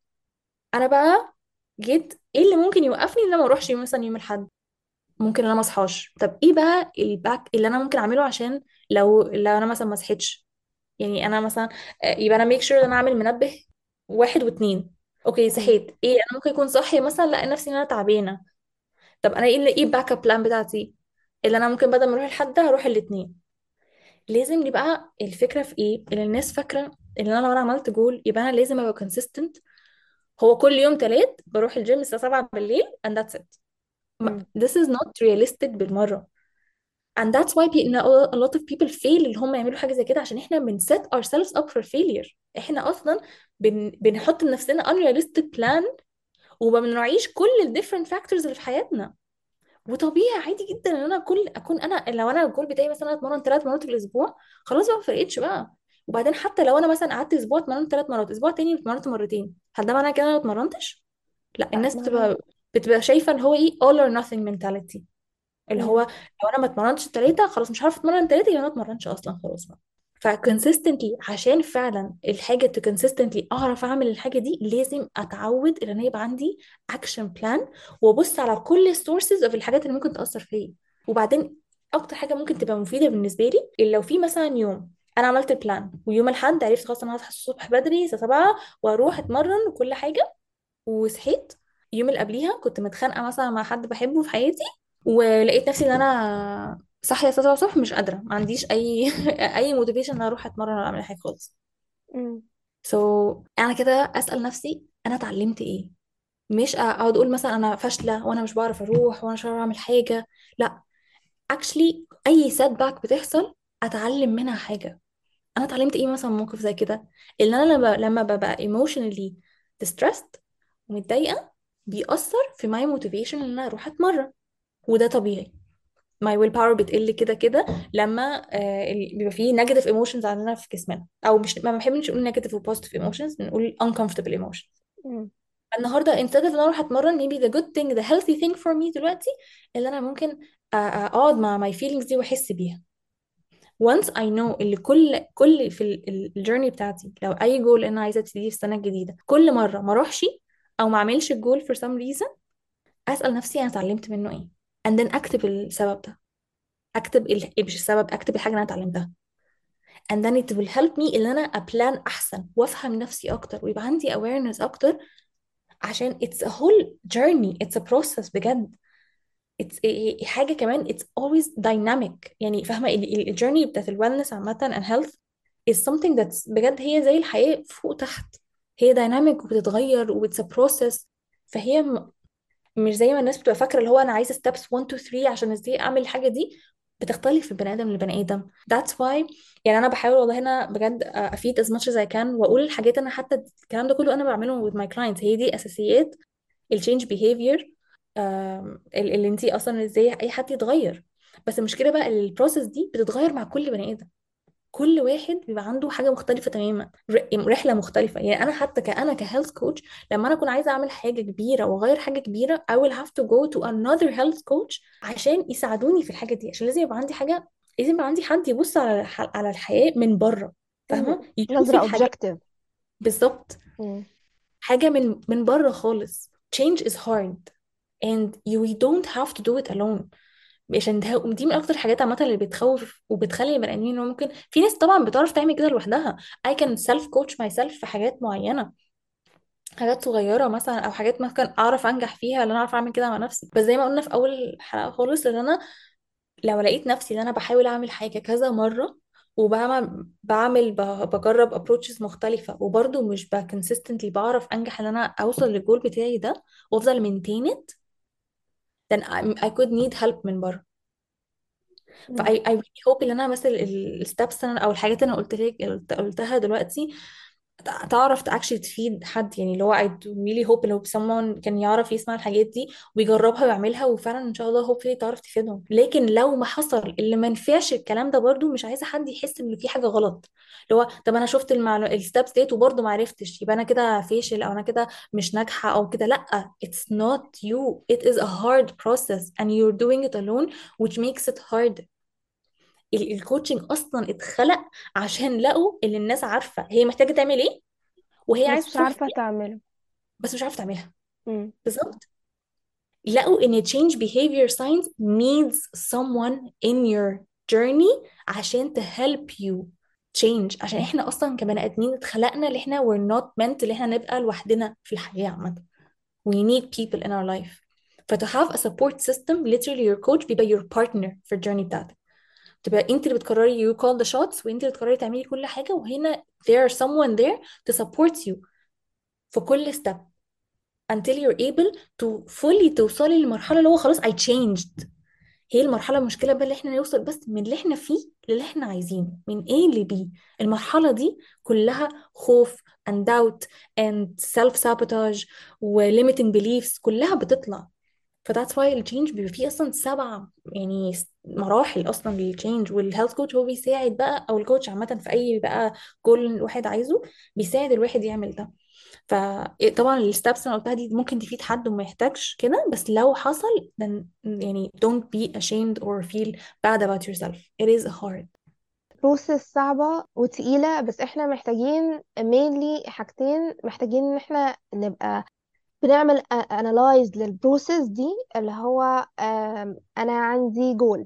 انا بقى جيت ايه اللي ممكن يوقفني ان انا ما اروحش مثلا يوم الاحد؟ ممكن انا ما اصحاش. طب ايه بقى الباك اللي انا ممكن اعمله عشان لو انا مثلا ما صحيتش؟ يعني انا مثلا يبقى انا ميك شور ان انا اعمل منبه واحد واتنين. اوكي مم. صحيت، ايه انا ممكن اكون صاحيه مثلا لا نفسي ان انا تعبانه. طب انا ايه الباك اب بلان بتاعتي؟ اللي انا ممكن بدل ما اروح الحد هروح الاثنين. لازم يبقى الفكره في ايه اللي الناس فاكره ان انا لو انا عملت جول يبقى انا لازم ابقى كونسيستنت. هو كل يوم تلات بروح الجيم الساعه 7 بالليل and that's it. مم. this is not realistic بالمره. and that's why a lot of people fail اللي هم يعملوا حاجه زي كده، عشان احنا بن set ourselves up for failure. احنا اصلا بنحط لنفسنا unrealistic plan وما بنراعيش كل ال different factors اللي في حياتنا. وطبيعي عادي جدا ان انا اكون انا لو انا الجول بتاعي مثلا اتمرن ثلاث مرات في الاسبوع، خلاص بقى ما فرقتش بقى. وبعدين حتى لو انا مثلا قعدت اسبوع اتمرنت ثلاث مرات، اسبوع تاني اتمرنت مرتين، هل ده معناه كده انا ما اتمرنتش؟ لا، لا، الناس ما. بتبقى شايفه ان هو ايه all or nothing mentality. اللي هو مم. لو انا ما اتمرنتش التلاته خلاص مش هعرف اتمرن التلاته، يبقى انا ما اتمرنتش اصلا خلاص بقى. فكونسيستنتلي عشان فعلا الحاجه كونسيستنتلي اعرف اعمل الحاجه دي، لازم اتعود ان انا يبقى عندي اكشن بلان وابص على كل السورسز اوف الحاجات اللي ممكن تاثر فيا. وبعدين اكتر حاجه ممكن تبقى مفيده بالنسبه لي اللي لو في مثلا يوم انا عملت البلان ويوم الاحد عرفت خلاص انا هصحى الصبح بدري الساعه 7 واروح اتمرن وكل حاجه، وصحيت يوم اللي قبليها كنت متخانقه مثلا مع حد بحبه في حياتي، ولقيت نفسي ان انا صاحيه الساعه 7 الصبح مش قادره، ما عنديش اي اي موتيفيشن ان أنا اروح اتمرن ولا اعمل أي حاجه خالص. مم. انا كده اسال نفسي انا اتعلمت ايه. مش اقعد اقول مثلا انا فاشله وانا مش بعرف اروح وانا مش بعرف اعمل حاجه. لا، actually اي سيت باك بتحصل اتعلم منها حاجه. انا اتعلمت ايه مثلا من موقف زي كده؟ ان انا لما ببقى emotionally distressed ومتضايقه بيأثر في my motivation ان انا اروح اتمرن. وده طبيعي، my will power بتقل كده كده لما بيبقى فيه negative emotions عندنا في جسمنا، او مش ما بنحبش نقول negative و positive emotions، بنقول uncomfortable emotions. مم. النهارده instead of ان انا اروح اتمرن maybe the good thing the healthy thing for me دلوقتي اللي انا ممكن اقعد مع my feelings دي واحس بيها. once I know اللي كل في الجيرني بتاعتي لو اي جول انا عايزه ابتديه في السنه الجديده كل مره ما اروحش او ما اعملش الجول for some reason، اسال نفسي انا اتعلمت منه ايه and then اكتب السبب ده. اكتب مش السبب، اكتب الحاجه اللي انا اتعلمتها and then it will help me ان انا ابلان احسن وافهم نفسي اكتر ويبقى عندي awareness اكتر. عشان it's a whole journey, it's a process بجد. it's حاجه كمان it's always dynamic. يعني فاهمه الجيرني بتاعت الويلنس عامه and health is something that's بجد هي زي الحياه فوق تحت. هي dynamic وبتتغير و it's a process. فهي مش زي ما الناس بتبقى فاكره اللي هو انا عايزه steps 1 2 3 عشان ازاي اعمل الحاجه دي. بتختلف من بني ادم لبني ادم. that's why يعني انا بحاول والله هنا بجد افيد as much as I can واقول الحاجات انا حتى الكلام ده كله انا بعمله with my clients. هي دي اساسيات التشينج behavior. اللي انتي اصلا ازاي اي حد يتغير. بس المشكله بقى البروسيس دي بتتغير مع كل بني ادم. كل واحد بيبقى عنده حاجة مختلفة تماما، رحلة مختلفة. يعني أنا حتى كأنا كهيلث كوتش لما أنا أكون عايزة أعمل حاجة كبيرة وأغير حاجة كبيرة I will have to go to another health coach عشان يساعدوني في الحاجة دي. عشان لازم يبقى عندي حاجة، لازم يبقى عندي حد يبص على على الحياة من بره، مم. فاهمة، يشوف نظرة الحاجات. objective. بالظبط، مم. حاجة من بره خالص. change is hard and you don't have to do it alone. عشان دي من اكتر الحاجات عامه اللي بتخوف وبتخلي البني ادمين انه ممكن في ناس طبعا بتعرف تعمل كده لوحدها. I can self coach myself في حاجات معينه، حاجات صغيره مثلا او حاجات مثلا اعرف انجح فيها اللي انا اعرف اعمل كده مع نفسي. بس زي ما قلنا في اول حلقه خالص ان انا لو لقيت نفسي ان انا بحاول اعمل حاجه كذا مره بجرب approaches مختلفة وبرضه مش consistently بعرف أنجح إن أنا أوصل للجول بتاعي ده وأفضل maintain it, then I could need help من بره. ف مم. I really hope ان انا مثلا الستبس او الحاجات اللي انا قلت لك قلتها دلوقتي تعرف actually تفيد حد، يعني اللي هو I really hope لو someone كان يعرف يسمع الحاجات دي ويجربها ويعملها، وفعلا ان شاء الله hopefully تعرف تفيدهم. لكن لو ما حصل اللي ما نفعش الكلام ده، برضو مش عايزه حد يحس ان في حاجه غلط. اللي هو طب انا شفت الستبس ديت وبرضو ما عرفتش، يبقى انا كده فاشل او انا كده مش ناجحه او كده. لا، it's not you, it is a hard process and you're doing it alone which makes it hard. الكوتشنج اصلا اتخلق عشان لقوا ان الناس عارفه هي محتاجه تعمل ايه وهي بس عايزه مش تروح عارفة فين، تعمله. بس مش عارفه تعملها. مم. بالظبط. لقوا ان change behavior science needs someone in your journey عشان to help you change. عشان احنا اصلا كبني ادمين اتخلقنا اللي احنا we're not meant اللي احنا نبقى لوحدنا في الحياه عامه. we need people in our life. ف to have a support system literally your coach بيبقى your partner في الجيرني بتاعتك. تبقى انت اللي بتقرري you call the shots وانت اللي بتقرري تعملي كل حاجه، وهنا there is someone there to support you في كل step until you're able to fully توصلي للمرحلة اللي هو خلاص I changed. هي المرحلة المشكلة بقى اللي احنا نوصل بس من اللي احنا فيه للي احنا عايزينه، من A ل B. المرحلة دي كلها خوف and doubt and self sabotage و limiting beliefs كلها بتطلع. ف that's why التشينج بيبقى فيه اصلا 7 يعني مراحل اصلا للتشينج. والهيلث كوتش هو بيساعد بقى، او الكوتش عامة في اي بقى جول الواحد عايزه بيساعد الواحد يعمل ده. فطبعا الستبس اللي أنا قلتها دي ممكن تفيد حد وما يحتاجش كده، بس لو حصل then يعني don't be ashamed or feel bad about yourself. It is hard. بروسيس صعبة وتقيلة، بس احنا محتاجين mainly حاجتين. محتاجين ان احنا نبقى بنعمل analyze للبروسيس دي، اللي هو انا عندي جول،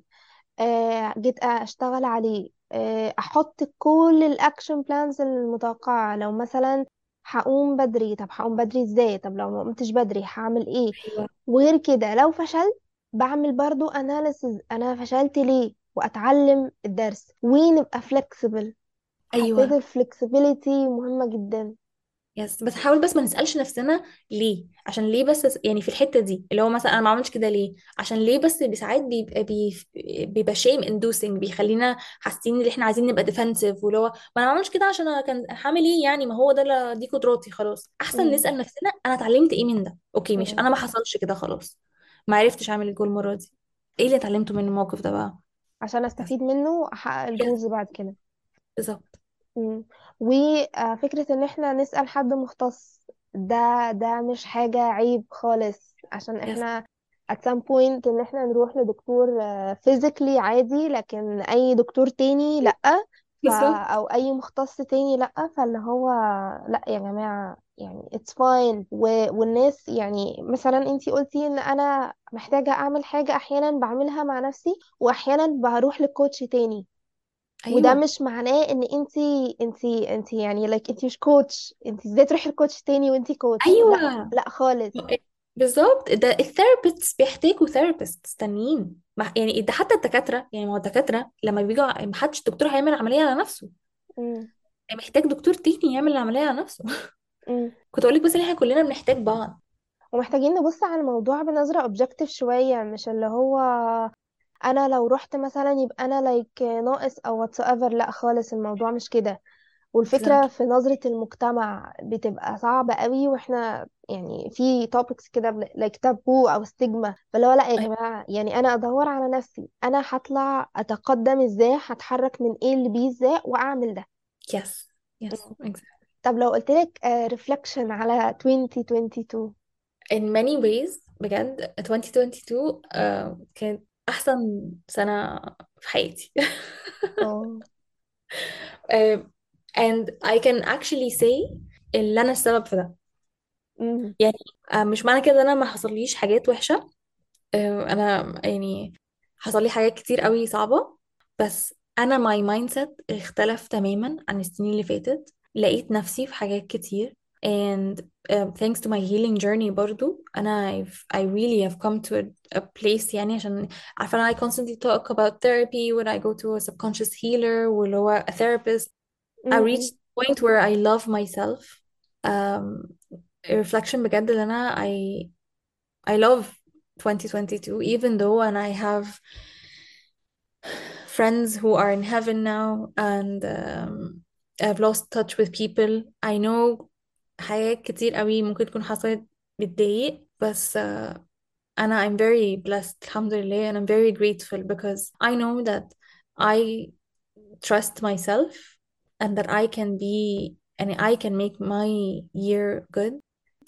جيت اشتغل عليه، احط كل الاكشن بلانز المتوقعة. لو مثلا هقوم بدري، طب هقوم بدري ازاي؟ طب لو ما قمتش بدري هعمل ايه؟ ايوه. وغير كده لو فشلت بعمل برضو اناليسز انا فشلت ليه، واتعلم الدرس ونبقى flexible. حسيت ايوه. الفلكسبيليتي مهمة جدا. يس، بس حاول بس ما نسألش نفسنا ليه. عشان ليه بس يعني في الحتة دي اللي هو مثلا انا ما عملتش كده ليه، عشان ليه بس ساعات بيبقى بيبقى شيم اندوسنج، بيخلينا حاسين ان احنا عايزين نبقى ديفensive، واللي هو ما انا ما عملتش كده عشان انا كان هعمل ايه يعني، ما هو ده دي قدراتي خلاص. احسن مم. نسأل نفسنا انا اتعلمت ايه من ده. اوكي مش مم. انا ما حصلش كده خلاص، ما عرفتش اعمل الجول المرة دي، ايه اللي اتعلمته من الموقف ده بقى. عشان بس استفيد منه واحقق يس، الجولز بعد كده. بالظبط. مم. وفكرة ان احنا نسأل حد مختص، ده مش حاجة عيب خالص. عشان يس. احنا at some point ان احنا نروح لدكتور physically عادي، لكن اي دكتور تاني لأ. بالظبط. او اي مختص تاني لأ. فاللي هو لأ يا جماعة، يعني it's fine. والناس يعني مثلا انتي قلتي ان انا محتاجة اعمل حاجة، احيانا بعملها مع نفسي واحيانا بروح لكوتش تاني. وده ايوه. مش معناه ان انتي يعني انتي مش كوتش. انتي ازاي تروحي لكوتش تاني وانتي كوتش؟ لا، ايوه. لا خالص. بالظبط، ده الثيرابيست بيحتاجوا ثيرابيست تانيين. يعني ده حتى الدكاتره، يعني ما هو الدكاتره لما بيجوا ما حدش دكتور هيعمل عمليه على نفسه، مم. محتاج دكتور تاني يعمل العمليه على نفسه. مم. كنت اقول لك بس ان احنا كلنا بنحتاج بعض. ومحتاجين نبص على الموضوع بنظرة اوبجكتيف شوية، مش اللي هو انا لو رحت مثلا يبقى انا ناقص او whatsoever. لا خالص، الموضوع مش كده. والفكرة exactly. في نظرة المجتمع بتبقى صعبة قوي، واحنا يعني في topics كده تابو او ستيجما. فاللي هو لا يا جماعة، يعني انا ادور على نفسي، انا هطلع اتقدم ازاي، هتحرك من ايه ل بي ازاي واعمل ده. yes. yes مم. exactly. طب لو قلت لك ريفلكشن على 2022. in many ways بجد 2022 كانت احسن سنه في حياتي. اه. آه، and I can actually say ان انا السبب في ده. امم. يعني مش معنى كده ان انا ما حصليش حاجات وحشه. انا يعني حصل لي حاجات كتير قوي صعبة، بس انا my mindset اختلف تماما عن السنين اللي فاتت. لقيت نفسي في حاجات كتير and thanks to my healing journey برضو انا I really have come to a place. يعني عشان عارفة انا I constantly talk about therapy when I go to a subconscious healer واللي هو a therapist. I امم. reached a point where I love myself. um, reflection بجد اللي انا I love 2022 even though and I have friends who are in heaven now and I've lost touch with people. I know حاجات كتير قوي ممكن تكون حصلت بتضايق، بس أنا I'm very blessed الحمد لله, and I'm very grateful because I know that I trust myself and that I can be and I can make my year good.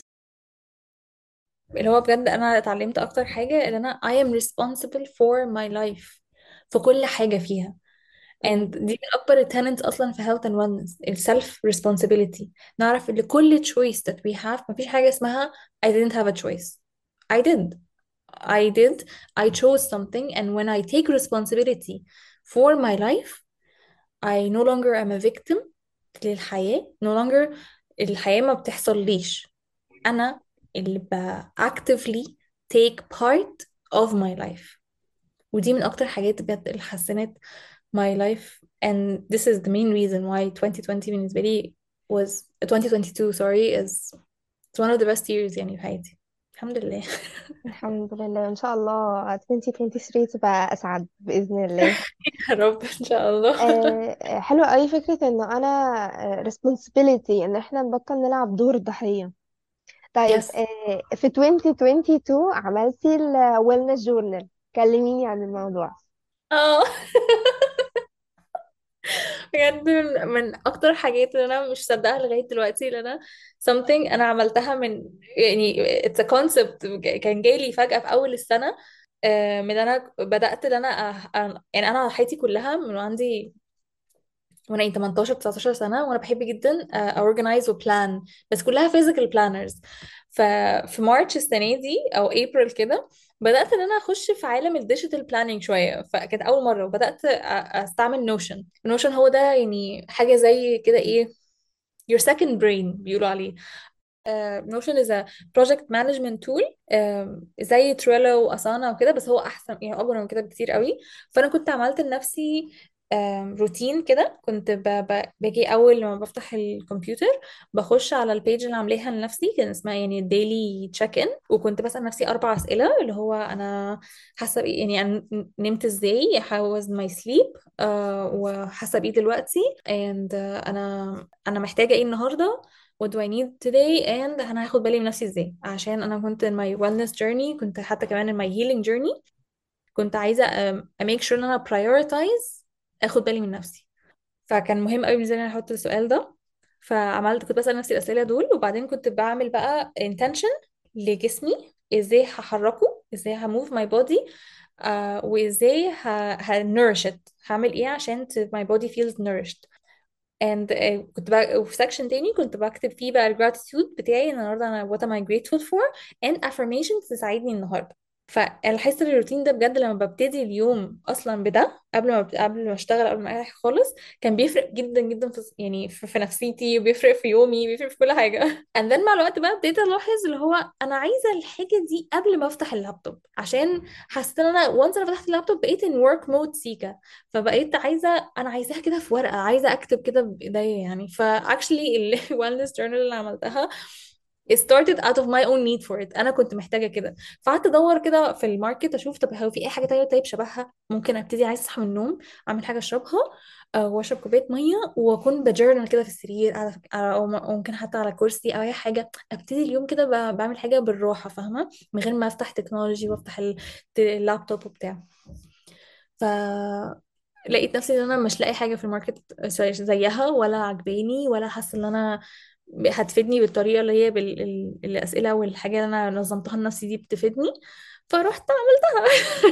اللي هو بجد أنا اتعلمت أكتر حاجة إن أنا I am responsible for my life في كل حاجة فيها. and مم. دي من أكبر التالنتس أصلا في health and wellness ال self responsibility. نعرف إن كل choice that we have مفيش حاجة اسمها I didn't have a choice. I did. I did. I chose something, and when I take responsibility for my life, I no longer am a victim للحياة. no longer الحياة ما بتحصليش, أنا اللي actively take part of my life. ودي من أكتر حاجات بجد اللي حسنت my life, and this is the main reason why 2020 بالنسبة لي was 2022 sorry is it's one of the best years يعني في حياتي الحمد لله. الحمد لله، ان شاء الله 2023 تبقى اسعد باذن الله. يا رب إن شاء الله. حلوة قوي فكرة انه انا responsibility ان احنا نبطل نلعب دور الضحية. طيب، yes. في 2022 عملتي ال wellness journal، كلميني عن الموضوع. اه. بجد من اكتر حاجات اللي انا مش مصدقها لغايه دلوقتي اللي انا something انا عملتها من يعني it's a concept كان جاي لي فجاه في اول السنه. من انا بدات ان انا يعني انا حياتي كلها من عندي وانا 18 19 سنه وانا بحب جدا organize وبلان, بس كلها physical planners. ففي مارتش السنه دي او ابريل كده بدات ان انا اخش في عالم الديجيتال بلاننج شويه, فكانت اول مره وبدات استعمل نوشن. نوشن هو ده يعني حاجه زي كده ايه, your second brain بيقولوا عليه. نوشن is a project management tool, زي تريلو واسانا وكده, بس هو احسن يعني اكبر من كده بكتير قوي. فانا كنت عملت لنفسي روتين كده, كنت باجي اول لما بفتح الكمبيوتر بخش على البيج اللي عاملاها لنفسي, كان اسمها يعني ديلي تشيك ان, وكنت بسأل نفسي 4 أسئلة اللي هو انا حاسه بإيه, يعني انا نمت ازاي, how was my sleep, وحاسه بإيه دلوقتي, and انا محتاجه ايه النهارده, what do I need today, and انا هاخد بالي من نفسي ازاي, عشان انا كنت in my wellness journey, كنت حتى كمان in my healing journey, كنت عايزة make sure ان انا prioritize اخد بالي من نفسي. فكان مهم قوي بالنسبة لي ان انا احط السؤال ده. فعملت كنت بسأل نفسي الأسئلة دول, وبعدين كنت بعمل بقى intention لجسمي, ازاي هحركه, ازاي همove my body, وازاي nourish it, هعمل ايه عشان my body feels nourished. and كنت بقى وفي سكشن تاني كنت بكتب فيه بقى الجراتيتيود بتاعي النهارده, انا what am I grateful for, and affirmations تساعدني النهارده. فالحس الروتين ده بجد لما ببتدي اليوم اصلا بده قبل ما اشتغل, قبل ما اي حاجه خالص, كان بيفرق جدا جدا في يعني في نفسيتي, وبيفرق في يومي, بيفرق في كل حاجه. and then مع الوقت بقى ابتديت الاحظ اللي هو انا عايزه الحاجه دي قبل ما افتح اللابتوب, عشان حسيت ان انا once انا فتحت اللابتوب بقيت in work mode سيكا. فبقيت انا عايزاها كده في ورقه, عايزه اكتب كده بايديا يعني. فاكشلي ال wellness journal اللي عملتها it started out of my own need for it, انا كنت محتاجه كده. فقعدت ادور كده في الماركت اشوف طب هو في اي حاجه تانية طيب شبهها ممكن ابتدي, عايزه اصحى من النوم اعمل حاجه اشربها, واشرب كوبايه ميه واكون بجورنال كده في السرير قاعده او ممكن حتى على كرسي او اي حاجه, ابتدي اليوم كده بعمل حاجه بالراحه فاهمه, من غير ما افتح تكنولوجي وافتح اللابتوب وبتاع. ف لقيت نفسي ان انا مش لاقي حاجه في الماركت زيها ولا عجباني ولا حاسه ان انا هتفيدني بالطريقه اللي هي الاسئله والحاجه اللي انا نظمتها لنفسي دي بتفيدني. فرحت عملتها.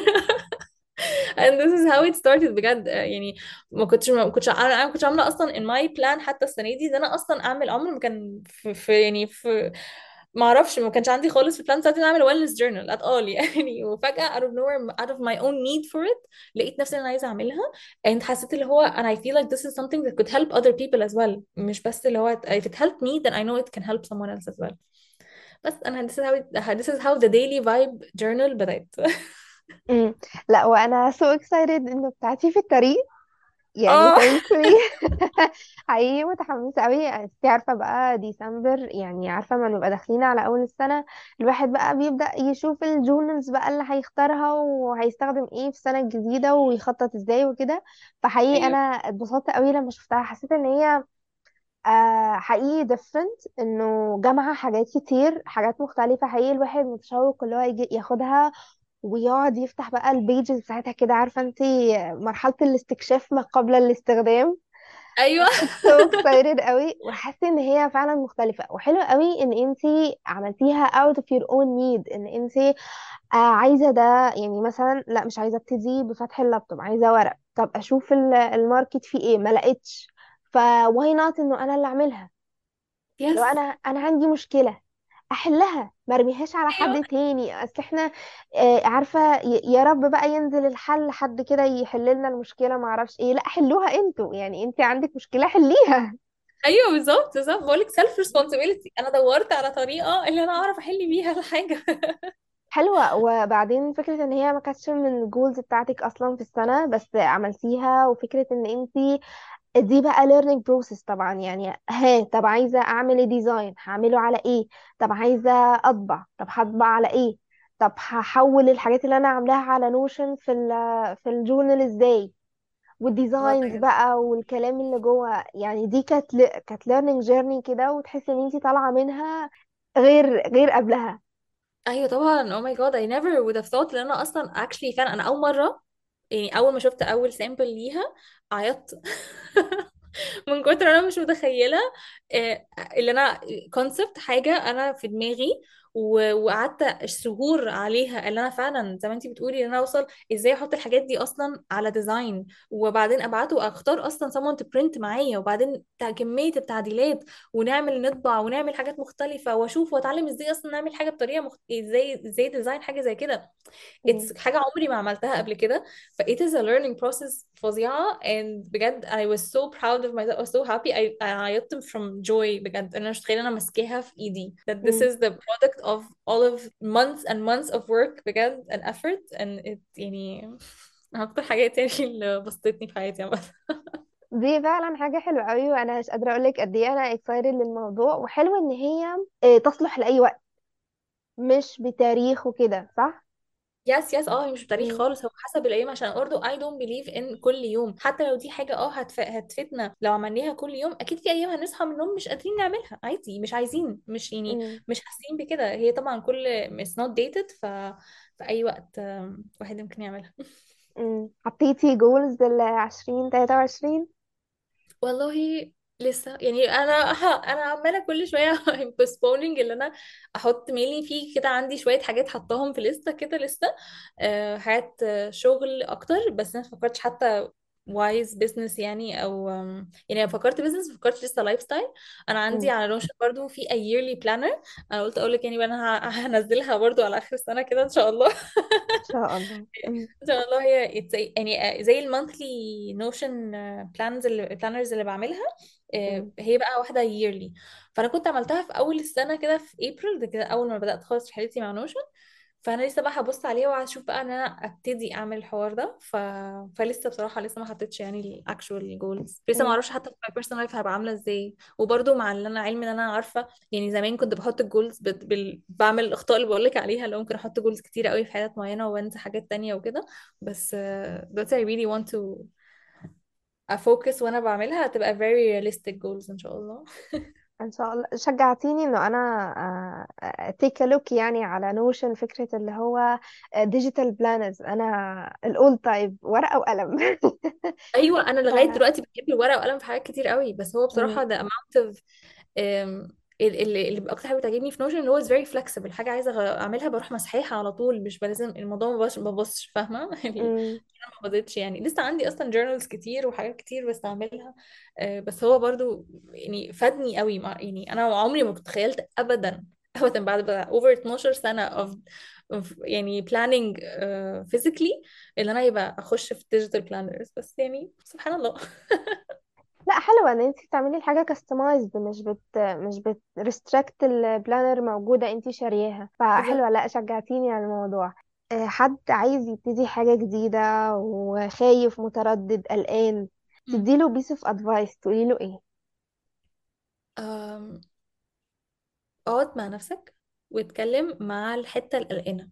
and this is how it started بجد. يعني ما كنتش عامله اصلا in my plan حتى السنه دي ده انا اصلا اعمل عمر, ما كان يعني في ما اعرفش, ما كانش عندي خالص في البلان بتاعتي إني اعمل wellness journal at all يعني. وفجاه out of nowhere out of my own need for it لقيت نفسي إن انا عايزه اعملها, and حسيت اللي هو and I feel like this is something that could help other people as well, مش بس اللي هو if it helped me then I know it can help someone else as well. بس انا this is how the daily vibe journal بدأت. مم. لا، وانا so excited انه بتاعتي في الطريق، يعني اه. thankfully. حقيقي متحمسة قوي. انت عارفة بقى ديسمبر، يعني عارفة ما نبقى داخلين على أول السنة، الواحد بقى بيبدأ يشوف الجورنالز بقى اللي هيختارها وهيستخدم ايه في السنة الجديدة ويخطط ازاي وكده. فحقيقي ايوه. أنا اتبسطت قوي لما شفتها، حسيت ان هي حقيقي different، انه جامعة حاجات كتير، حاجات مختلفة، حقيقي الواحد متشوق اللي هو يجي ياخدها ويقعد يفتح بقى البيجز بتاعتها كده، عارفة انتي مرحلة الاستكشاف ما قبل الاستخدام. ايوه. كنت so excited قوي، وحاسة ان هي فعلا مختلفة وحلوة قوي ان انتي عملتيها out of your own need، ان انتي عايزة ده. يعني مثلا لا مش عايزة ابتدي بفتح اللابتوب، عايزة ورق، طب اشوف الماركت فيه ايه، ما لقيتش، فواي نوت انه انا اللي اعملها. لو يس. انا عندي مشكلة احلها، ما ارميهاش على ايوه. حد تاني. اصل احنا عارفة يا رب بقى ينزل الحل، حد كده يحل لنا المشكلة، ما اعرفش ايه، لا حلوها انتوا، يعني انت عندك مشكلة حليها. ايوه بالظبط بالظبط، بقول لك سيلف ريسبونسبيلتي، انا دورت على طريقه اللي انا اعرف احل بيها الحاجه. حلوة. وبعدين فكرة ان هي ما كانتش من الجولز بتاعتك اصلا في السنة، بس عملتيها، وفكرة ان انتي دي بقى learning process طبعا. يعني ها، طب عايزة اعمل ايه ديزاين، هعمله على ايه؟ طب عايزة اطبع، طب هطبع على ايه؟ طب هحول الحاجات اللي انا عاملاها على نوشن في الجورنال ازاي؟ اه والديزاينز بجد. بقى والكلام اللي جوه. يعني دي كانت learning journey كده، وتحسي ان انتي طالعة منها غير قبلها. ايوه طبعا. او ماي جاد I never would have thought ان انا اصلا actually فعلا انا اول مره، يعني اول ما شفت اول سامبل ليها عيطت. من كتر انا مش متخيله اللي انا كونسبت حاجه انا في دماغي وقعدت شهور عليها، اللي انا فعلا زي ما انتي بتقولي ان انا اوصل ازاي احط الحاجات دي اصلا على ديزاين، وبعدين ابعته واختار اصلا someone to print معايا، وبعدين كميه التعديلات، ونعمل نطبع ونعمل حاجات مختلفه، واشوف واتعلم ازاي اصلا نعمل حاجه بطريقه ازاي ديزاين حاجه زي كده. مم. it's حاجة عمري ما عملتها قبل كده. ف it is a learning process فظيعة. and بجد I was so proud of myself. I was so happy. I عيطت from joy بجد. انا مش متخيلة انا ماسكاها في ايدي. that this مم. is the product of all of months and months of work بجد and effort. and it يعني من اكتر حاجات يعني اللي بسطتني في حياتي عامة. دي فعلا حاجة حلوة قوي، وانا مش قادرة اقولك قد ايه انا excited للموضوع. وحلو ان هي تصلح لأي وقت، مش بتاريخ وكده، صح؟ يس يس. اه هي مش بتاريخ مم. خالص، هو حسب الايام. عشان برضه I don't believe in كل يوم، حتى لو دي حاجه هتفيدنا لو عملناها كل يوم، اكيد في ايام هنصحى من النوم مش قادرين نعملها عادي، مش عايزين، مش يعني مم. مش حاسين بكده. هي طبعا كل it's not dated. في اي وقت واحد يمكن يعملها. حطيتي جولز ل2023؟ والله لسه يعني انا عماله كل شويه I'm postponing اللي انا احط ميلي فيه كده. عندي شويه حاجات حطاهم في لسه كده لسه، حاجات شغل اكتر. بس انا فكرتش حتى وايز بزنس يعني، او يعني أنا فكرت بزنس، فكرت لسه لايف ستايل. انا عندي مم. على نوشن برضو في a yearly planner. انا قلت اقول لك يعني بقى انا هنزلها برضو على اخر السنه كده ان شاء الله. ان شاء الله. ان شاء الله. هي يعني زي المونثلي نوشن بلانرز اللي بعملها. مم. هي بقى واحده yearly. فانا كنت عملتها في اول السنه كده في ابريل ده كده، اول ما بدات خالص رحلتي مع نوشن. فانا لسه بقى هبص عليها وهشوف بقى ان انا ابتدي اعمل الحوار ده. فلسه بصراحه لسه ما حطيتش يعني الاكشوال جولز، لسه ما مم. اعرفش حتى في بيرسونال لايف هبقى عامله ازاي. وبرده مع اللي انا علمي ان انا عارفه يعني زمان كنت بحط الجولز بعمل الاخطاء اللي بقول لك عليها، اللي ممكن احط جولز كتيره قوي في حاجات معينه وانسى حاجات تانية وكده. بس دلوقتي I really want to افوكس وانا بعملها هتبقى very realistic goals ان شاء الله. ان شاء الله. شجعتيني انه انا تيك لوك يعني على نوشن، فكرة اللي هو ديجيتال بلانرز. انا الاولد تايب ورقة وقلم. ايوه انا ف... لغايه دلوقتي بجيب الورقه وقلم في حاجات كتير قوي. بس هو مم. بصراحه ده amount of اللي اكتر حاجه بتعجبني في نوشن اللي هو is very flexible. حاجه عايزه اعملها بروح مسحيها على طول، مش بلازم الموضوع ما ببصش فاهمه. يعني مم. انا ما بزيدش يعني. لسه عندي اصلا journals كتير وحاجات كتير بستعملها. بس هو برضو يعني فادني قوي يعني انا عمري ما كنت تخيلت ابدا ابدا بعد بقى over 12 سنه of يعني planning physically اللي انا يبقى اخش في digital planners. بس يعني سبحان الله. لا، حلوة ان انت تعملي الحاجة كاستمايزد، مش بت ريستريكت البلانر موجودة انت شارياها، بالظبط. فحلوة. لا، شجعتيني على الموضوع. حد عايز يبتدي حاجة جديدة وخايف متردد قلقان، مم. تديله بيس اوف ادفايس، تقولي له ايه؟ أم، اقعد مع نفسك واتكلم مع الحتة القلقانة،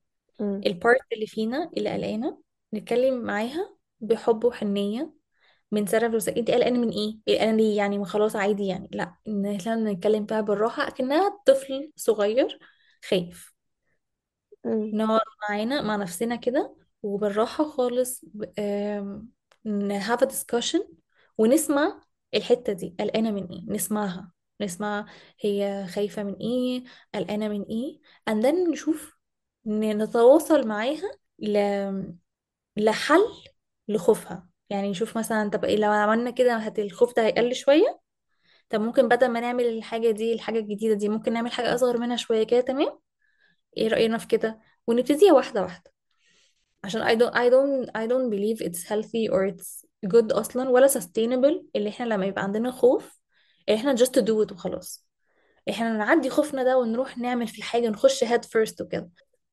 مم. البارت اللي فينا اللي قلقانة. نتكلم معاها بحب وحنية، بنسرب رسائل انت قلقانه من ايه قلقانه ليه يعني، ما خلاص عادي يعني، لا ان احنا نتكلم فيها بالراحه اكنها طفل صغير خايف. مم. نقعد معانا مع نفسنا كده وبالراحه خالص have a discussion ونسمع الحته دي قلقانه من ايه، نسمعها، نسمع هي خايفه من ايه، قلقانه من ايه، and then نشوف نتواصل معاها لحل لخوفها. يعني نشوف مثلا طب إيه لو عملنا كده الخوف ده هيقل شوية. طب ممكن بدل ما نعمل الحاجة دي الحاجة الجديدة دي ممكن نعمل حاجة أصغر منها شوية كده، تمام؟ ايه رأينا في كده؟ ونبتديها واحدة واحدة. عشان I don't believe it's healthy or it's good أصلا ولا sustainable اللي احنا لما يبقى عندنا خوف اللي احنا just to do it وخلاص. احنا نعدي خوفنا ده ونروح نعمل في الحاجة نخش head first وكده.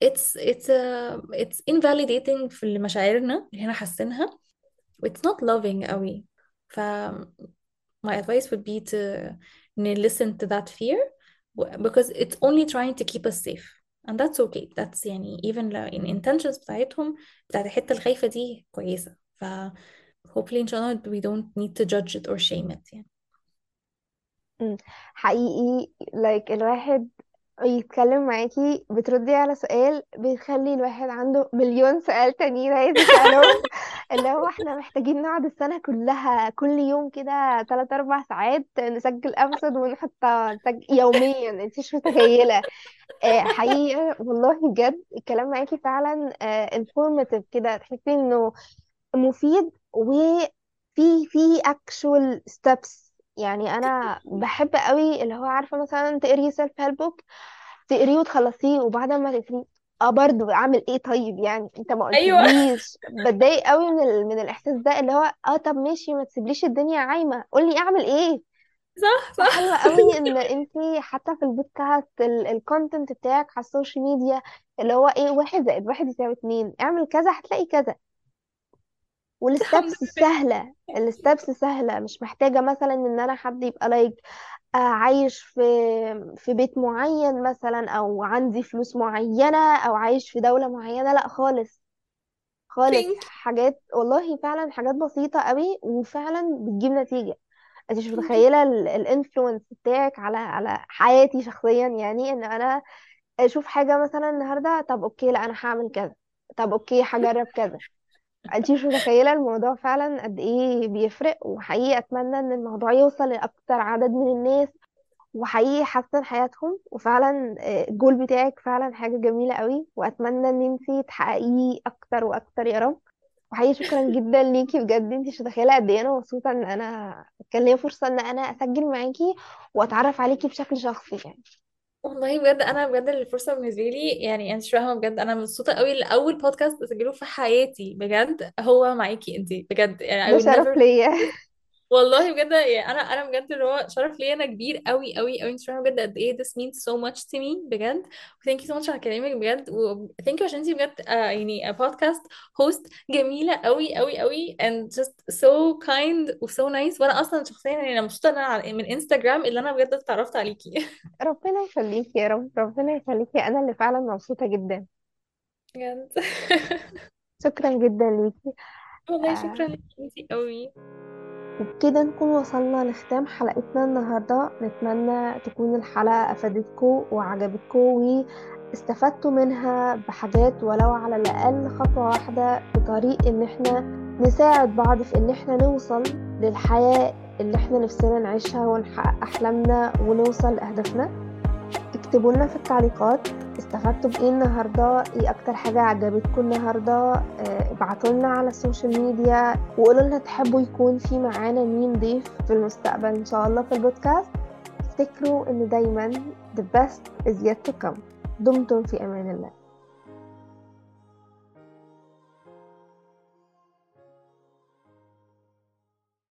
It's invalidating في مشاعرنا اللي احنا حاسينها. It's not loving قوي. ف my advice would be to listen to that fear because it's only trying to keep us safe and that's okay. That's يعني even لو in intentions بتاعتهم بتاعت الحتة الخايفة دي كويسة. ف hopefully إن شاء الله we don't need to judge it or shame it يعني. مم. حقيقي الواحد يتكلم معاكي بتردي على سؤال بيخلي الواحد عنده مليون سؤال تانيين عايز يسألهم. اللي هو احنا محتاجين نقعد السنة كلها كل يوم كده 3 4 ساعات نسجل أبسط ونحطها يوميا، انت مش متخيلة. حقيقة والله بجد الكلام معاكي فعلا informative كده، تحسي انه مفيد وفي actual steps. يعني انا بحب قوي اللي هو عارفه مثلا تقري سيلف هيلب بوك، تقريه وتخلصيه وبعد ما تقريه برضه اعمل ايه طيب؟ يعني انت ما ايوه. قلتليش. بتضايق قوي من الاحساس ده اللي هو طب ماشي ما تسيبليش الدنيا عايمه، قولي اعمل ايه. صح فحلوة صح. قوي ان انتي حتى في البودكاست الكونتنت بتاعك على السوشيال ميديا اللي هو ايه 1+1=2، اعمل كذا هتلاقي كذا. الحمد والستبس لله. سهلة، الستبس سهلة، مش محتاجة مثلا ان انا حد يبقى عايش في بيت معين مثلا، او عندي فلوس معينة، او عايش في دولة معينة، لا خالص خالص. Thank you. حاجات والله فعلا حاجات بسيطة قوي وفعلا بتجيب نتيجة. انت مش Thank you. متخيلة الانفلونس بتاعك على حياتي شخصيا. يعني ان انا اشوف حاجة مثلا النهاردة، طب اوكي لا انا هعمل كذا، طب اوكي هجرب كذا. انت مش متخيلة الموضوع فعلا قد ايه بيفرق. وحقيقي اتمنى ان الموضوع يوصل لاكتر عدد من الناس وحقيقي يحسن حياتهم. وفعلا الجول بتاعك فعلا حاجة جميلة قوي، واتمنى ان انت تحققيه اكتر واكتر يا رب. وحقيقي شكرا جدا ليكي بجد. انت مش متخيلة قد ايه انا مبسوطة ان انا كان ليا فرصة ان انا اسجل معاكي واتعرف عليكي بشكل شخصي يعني. والله بجد انا بجد الفرصه بالنسبه لي يعني انت مش فاهمه بجد انا مبسوطه قوي لاول بودكاست اسجله في حياتي بجد هو معاكي انت بجد يعني ده I would شرف never. ليا. والله بجد يعني انا بجد اللي هو شرف ليا انا كبير قوي قوي قوي. انت فاهمه بجد قد ايه this means so much to me بجد. thank you so much على كلامك بجد و thank you عشان انت بجد يعني a podcast host جميله قوي قوي قوي and just so kind و so nice. وانا اصلا شخصيا يعني انا مبسوطه ان انا من انستغرام اللي انا بجد اتعرفت عليكي. ربنا يخليكي يا رب، ربنا يخليكي، انا اللي فعلا مبسوطة جدا. بجد. شكرا جدا ليكي. والله آه، شكرا لك انتي قوي. وبكده نكون وصلنا لختام حلقتنا النهاردة. نتمنى تكون الحلقة أفادتكم وعجبتكم واستفدتوا منها بحاجات ولو على الأقل خطوة واحدة في طريق إن احنا نساعد بعض في إن احنا نوصل للحياة اللي احنا نفسنا نعيشها ونحقق أحلامنا ونوصل لأهدافنا. اكتبوا لنا في التعليقات استفدتوا بايه النهارده، ايه اكتر حاجه عجبتكم النهارده. ابعتوا لنا على السوشيال ميديا وقولوا لنا تحبوا يكون في معانا مين ضيف في المستقبل ان شاء الله في البودكاست. افتكروا ان دايما the best is yet to come. دمتم في امان الله.